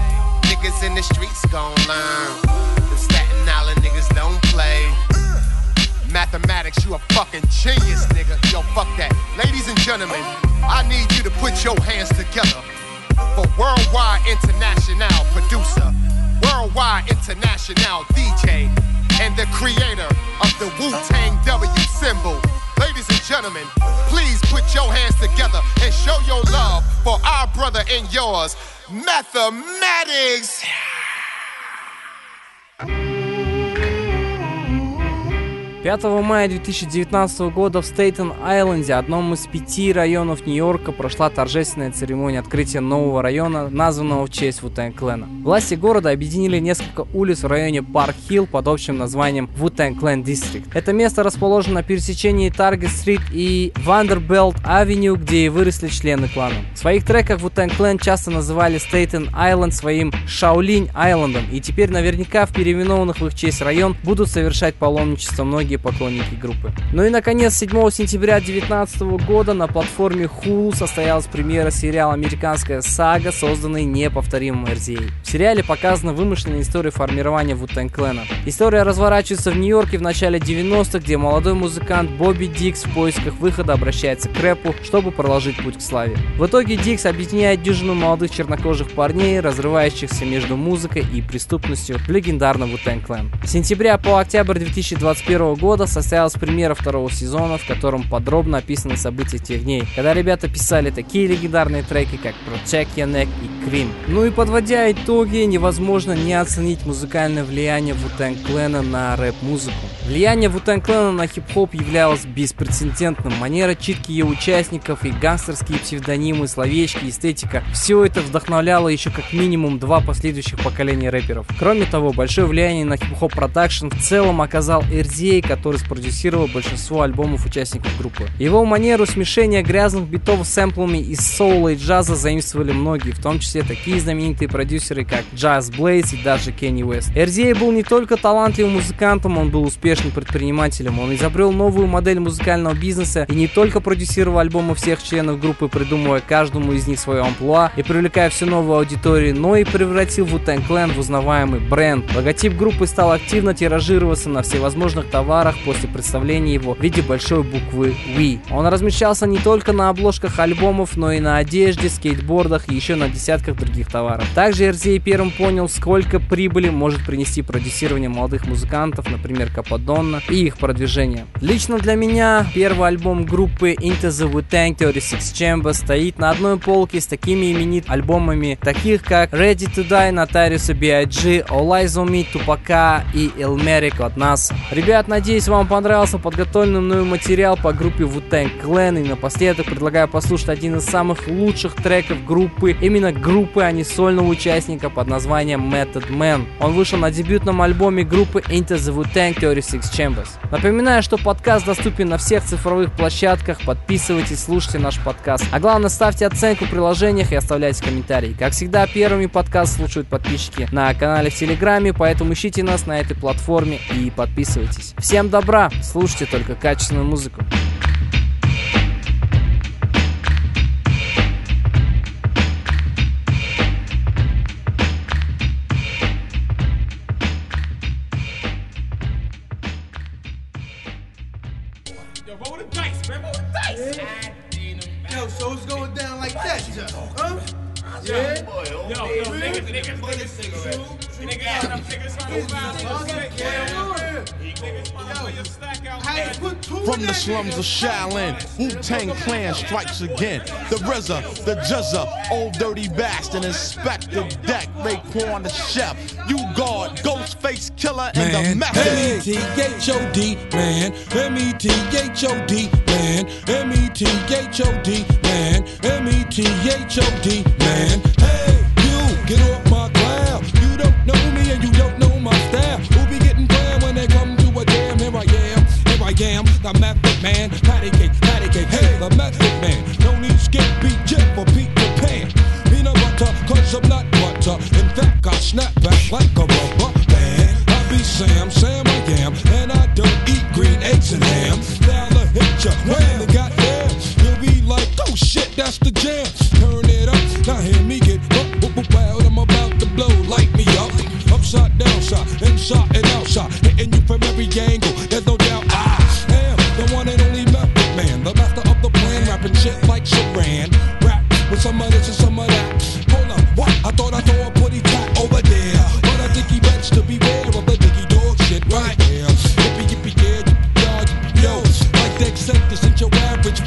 Niggas in the streets gon' learn. Them Staten Island niggas don't play. Mathematics, you a fucking genius, nigga. Yo, fuck that. Ladies and gentlemen, I need you to put your hands together for Worldwide International producer, Worldwide International D J, and the creator of the Wu-Tang W symbol. Ladies and gentlemen, please put your hands together and show your love for our brother and yours, Mathematics. пятого мая две тысячи девятнадцатого года в Стейтен-Айленде, одном из пяти районов Нью-Йорка, прошла торжественная церемония открытия нового района, названного в честь Wu-Tang Clan. Власти города объединили несколько улиц в районе Парк-Хилл под общим названием Wu-Tang Clan District. Это место расположено на пересечении Таргет-стрит и Вандербелт-авеню, где и выросли члены клана. В своих треках Wu-Tang Clan часто называли Стейтен-Айленд своим Шаолинь-Айлендом, и теперь наверняка в переименованных в их честь район будут совершать паломничество многие поклонники группы. Ну и наконец, седьмого сентября две тысячи девятнадцатого года на платформе Hulu состоялась премьера сериала «Американская сага», созданный неповторимым эр зет эй. В сериале показана вымышленная история формирования Wu-Tang Clan. История разворачивается в Нью-Йорке в начале девяностых, где молодой музыкант Бобби Дикс в поисках выхода обращается к рэпу, чтобы проложить путь к славе. В итоге Дикс объединяет дюжину молодых чернокожих парней, разрывающихся между музыкой и преступностью, в легендарном Wu-Tang Clan. С сентября по октябрь две тысячи двадцать первого года состоялась премьера второго сезона, в котором подробно описаны события тех дней, когда ребята писали такие легендарные треки, как Protect Your Neck и Cream. Ну и подводя итоги, невозможно не оценить музыкальное влияние Wu-Tang Clan на рэп-музыку. Влияние Wu-Tang Clan на хип-хоп являлось беспрецедентным. Манера читки ее участников и гангстерские псевдонимы, словечки, эстетика — все это вдохновляло еще как минимум два последующих поколения рэперов. Кроме того, большое влияние на хип-хоп продакшн в целом оказал эр зет эй, который спродюсировал большинство альбомов участников группы. Его манеру смешения грязных битов с сэмплами из соула и джаза заимствовали многие, в том числе такие знаменитые продюсеры, как Just Blaze и даже Kanye West. эр зет эй был не только талантливым музыкантом, он был успешным предпринимателем. Он изобрел новую модель музыкального бизнеса и не только продюсировал альбомы всех членов группы, придумывая каждому из них свое амплуа и привлекая все новую аудиторию, но и превратил Wu-Tang Clan в узнаваемый бренд. Логотип группы стал активно тиражироваться на всевозможных товарах после представления его в виде большой буквы Ви. Он размещался не только на обложках альбомов, но и на одежде, скейтбордах и еще на десятках других товаров. Также эр зет эй первым понял, сколько прибыли может принести продюсирование молодых музыкантов, например, Кападонна, и их продвижение. Лично для меня первый альбом группы Into the Wu-Tang тридцать шесть Chambers стоит на одной полке с такими именитыми альбомами, таких как Ready to Die, Notorious би ай джи, All Eyes on Me, Тупака и Illmatic от нас. Ребят, надеюсь, вам понравился подготовленный мною материал по группе Wu-Tang Clan, и напоследок предлагаю послушать один из самых лучших треков группы, именно группы, а не сольного участника, под названием Method Man. Он вышел на дебютном альбоме группы Into the Wu-Tang тридцать шесть Chambers. Напоминаю, что подкаст доступен на всех цифровых площадках, подписывайтесь, слушайте наш подкаст. А главное, ставьте оценку в приложениях и оставляйте комментарии. Как всегда, первыми подкаст слушают подписчики на канале в Телеграме, поэтому ищите нас на этой платформе и подписывайтесь. Всем добра, слушайте только качественную музыку. Yo, so it's going down like that, huh? Yeah. Yo, yo, niggas, niggas, niggas, niggas, From the slums of Shaolin, Wu-Tang Clan strikes again. The R Z A, the J Z A, Old Dirty Bastard, Inspector Deck, Raekwon the Chef, you guard, Ghostface Killer, and Man, the Method. M E T H O D, man. M E T H O D, man. M E T H O D, man. M E T H O D, man. Hey, you, get off my cloud. You don't know me and you don't know my style. Who be getting down when they come to a jam? Here I am, here I am, the Method Man. Patty cake, patty cake, hey, the Method Man. No need skip, beat, jet for Peter Pan. Peanut butter, cause I'm not butter. In fact, I snap back like a rubber band. I be Sam, Sam I am, and I don't eat green eggs and ham. Now the hit ya, when they got there, you'll be like, oh shit, that's the jam. Turn it up, now hear me get up, up, up, wild. I'm about to blow, light me up. Upside, downside, inside and outside, hitting you from every angle. There's no doubt I am the one and only Method Man, the master of the plan, rapping shit like Saran. Rap with some of this and some of that. Hold up, what? I thought I saw a putty cat over there, but I think he bets to beware of the diggy dog shit right here. Yippee yippee yeah, yippee y'all, yippee yo, like the eccentric, ain't your average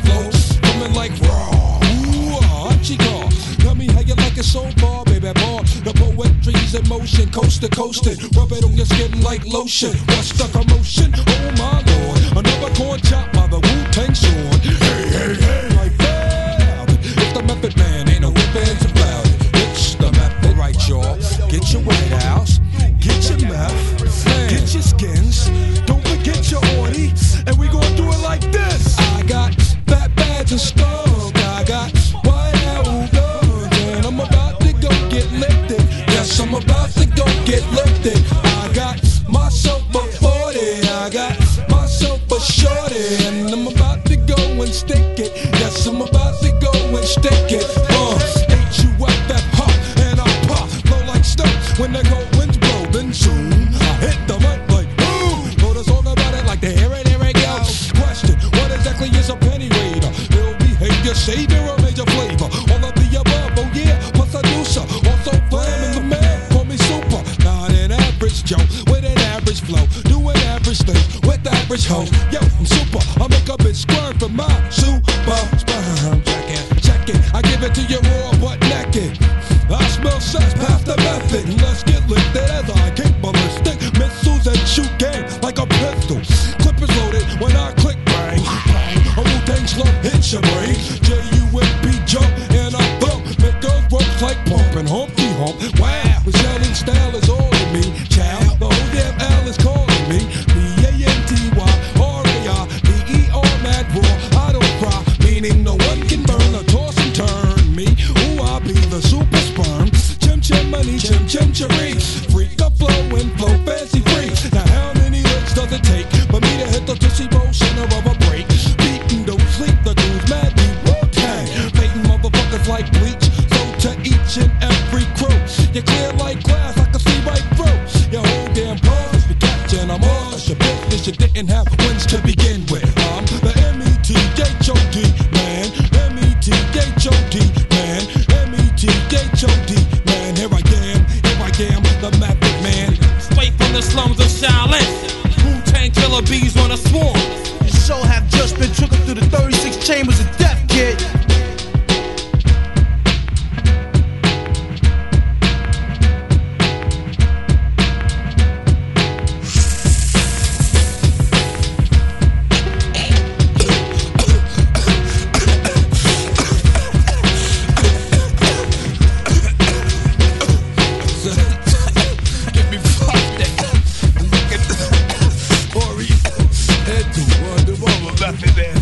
ocean, coast to coastin'. Rub it on your skin like lotion. What's the commotion? Oh my lord, another corn chop by the Wu-Tang sword. Hey, hey, hey, like that. It's the Method Man, ain't no ifs about it. It's the method, right, y'all? Get your White House, get your meth, get your skins. Don't forget your orty, and we gon' do it like this. I got fat bags and skunk. I got White House guns, and I'm about to go get lifted. Yes, I'm about to go get lifted. I got myself a forty, I got myself a shorty, and I'm about to go and stick it. Yes, I'm about to go and stick it. Uh, H U F F, huh, and I pop, blow like snow. When the cold winds blow, then soon I hit the mic like boom. Wrote a song about it like the here it, here it goes. Question, what exactly is a penny raider? Ill behavior, savior, or major flavor? All of the above, oh yeah, plus I do so. Also flamin' the man, call me super. Not an average Joe, with an average flow. Doing average things with average hoes. Yo, I'm super, I make a bitch squirm for my super sperm. Check it, check it, I give it to you raw but naked. I smell sex past the method. Let's get lifted as I kick ballistic missiles and shoot game like a pistol. Clip is loaded when I click bang, bang. A Wu-Tang slump hits your brain. J U M P jump and I thump. Make girls ropes like pumping Humpty Hump. Wow, the yelling style is all in me. Child, the whole damn L is calling me. B A N T Y R A I B E R mad raw. I don't cry, meaning no one can burn or toss and turn me. Ooh, I be the super sperm. Chim chim money, chim chim cherry. Freak up flow and flow fancy free. Now how many licks does it take for me to hit the Tootsie Roll center of a break? Beatin' don't sleep, the dude's mad deep. Wu-Tang, baiting motherfuckers like bleach. So to each and every crew, you clear like glass, I can see right through. Your whole damn pause, you catchin', I'm all your business. You didn't have wins to begin with. I'm the M E T H O D man, M E T H O D man, M E T H O D man. Here I am, here I am, the Method Man. Straight from the slums of Shaolin, Wu-Tang killer bees on a swarm. Your soul have just been triggered through the thirty-six chambers of death, kid. Get me fucked up. Look at the Ori. Head to one, the mother, Method Man.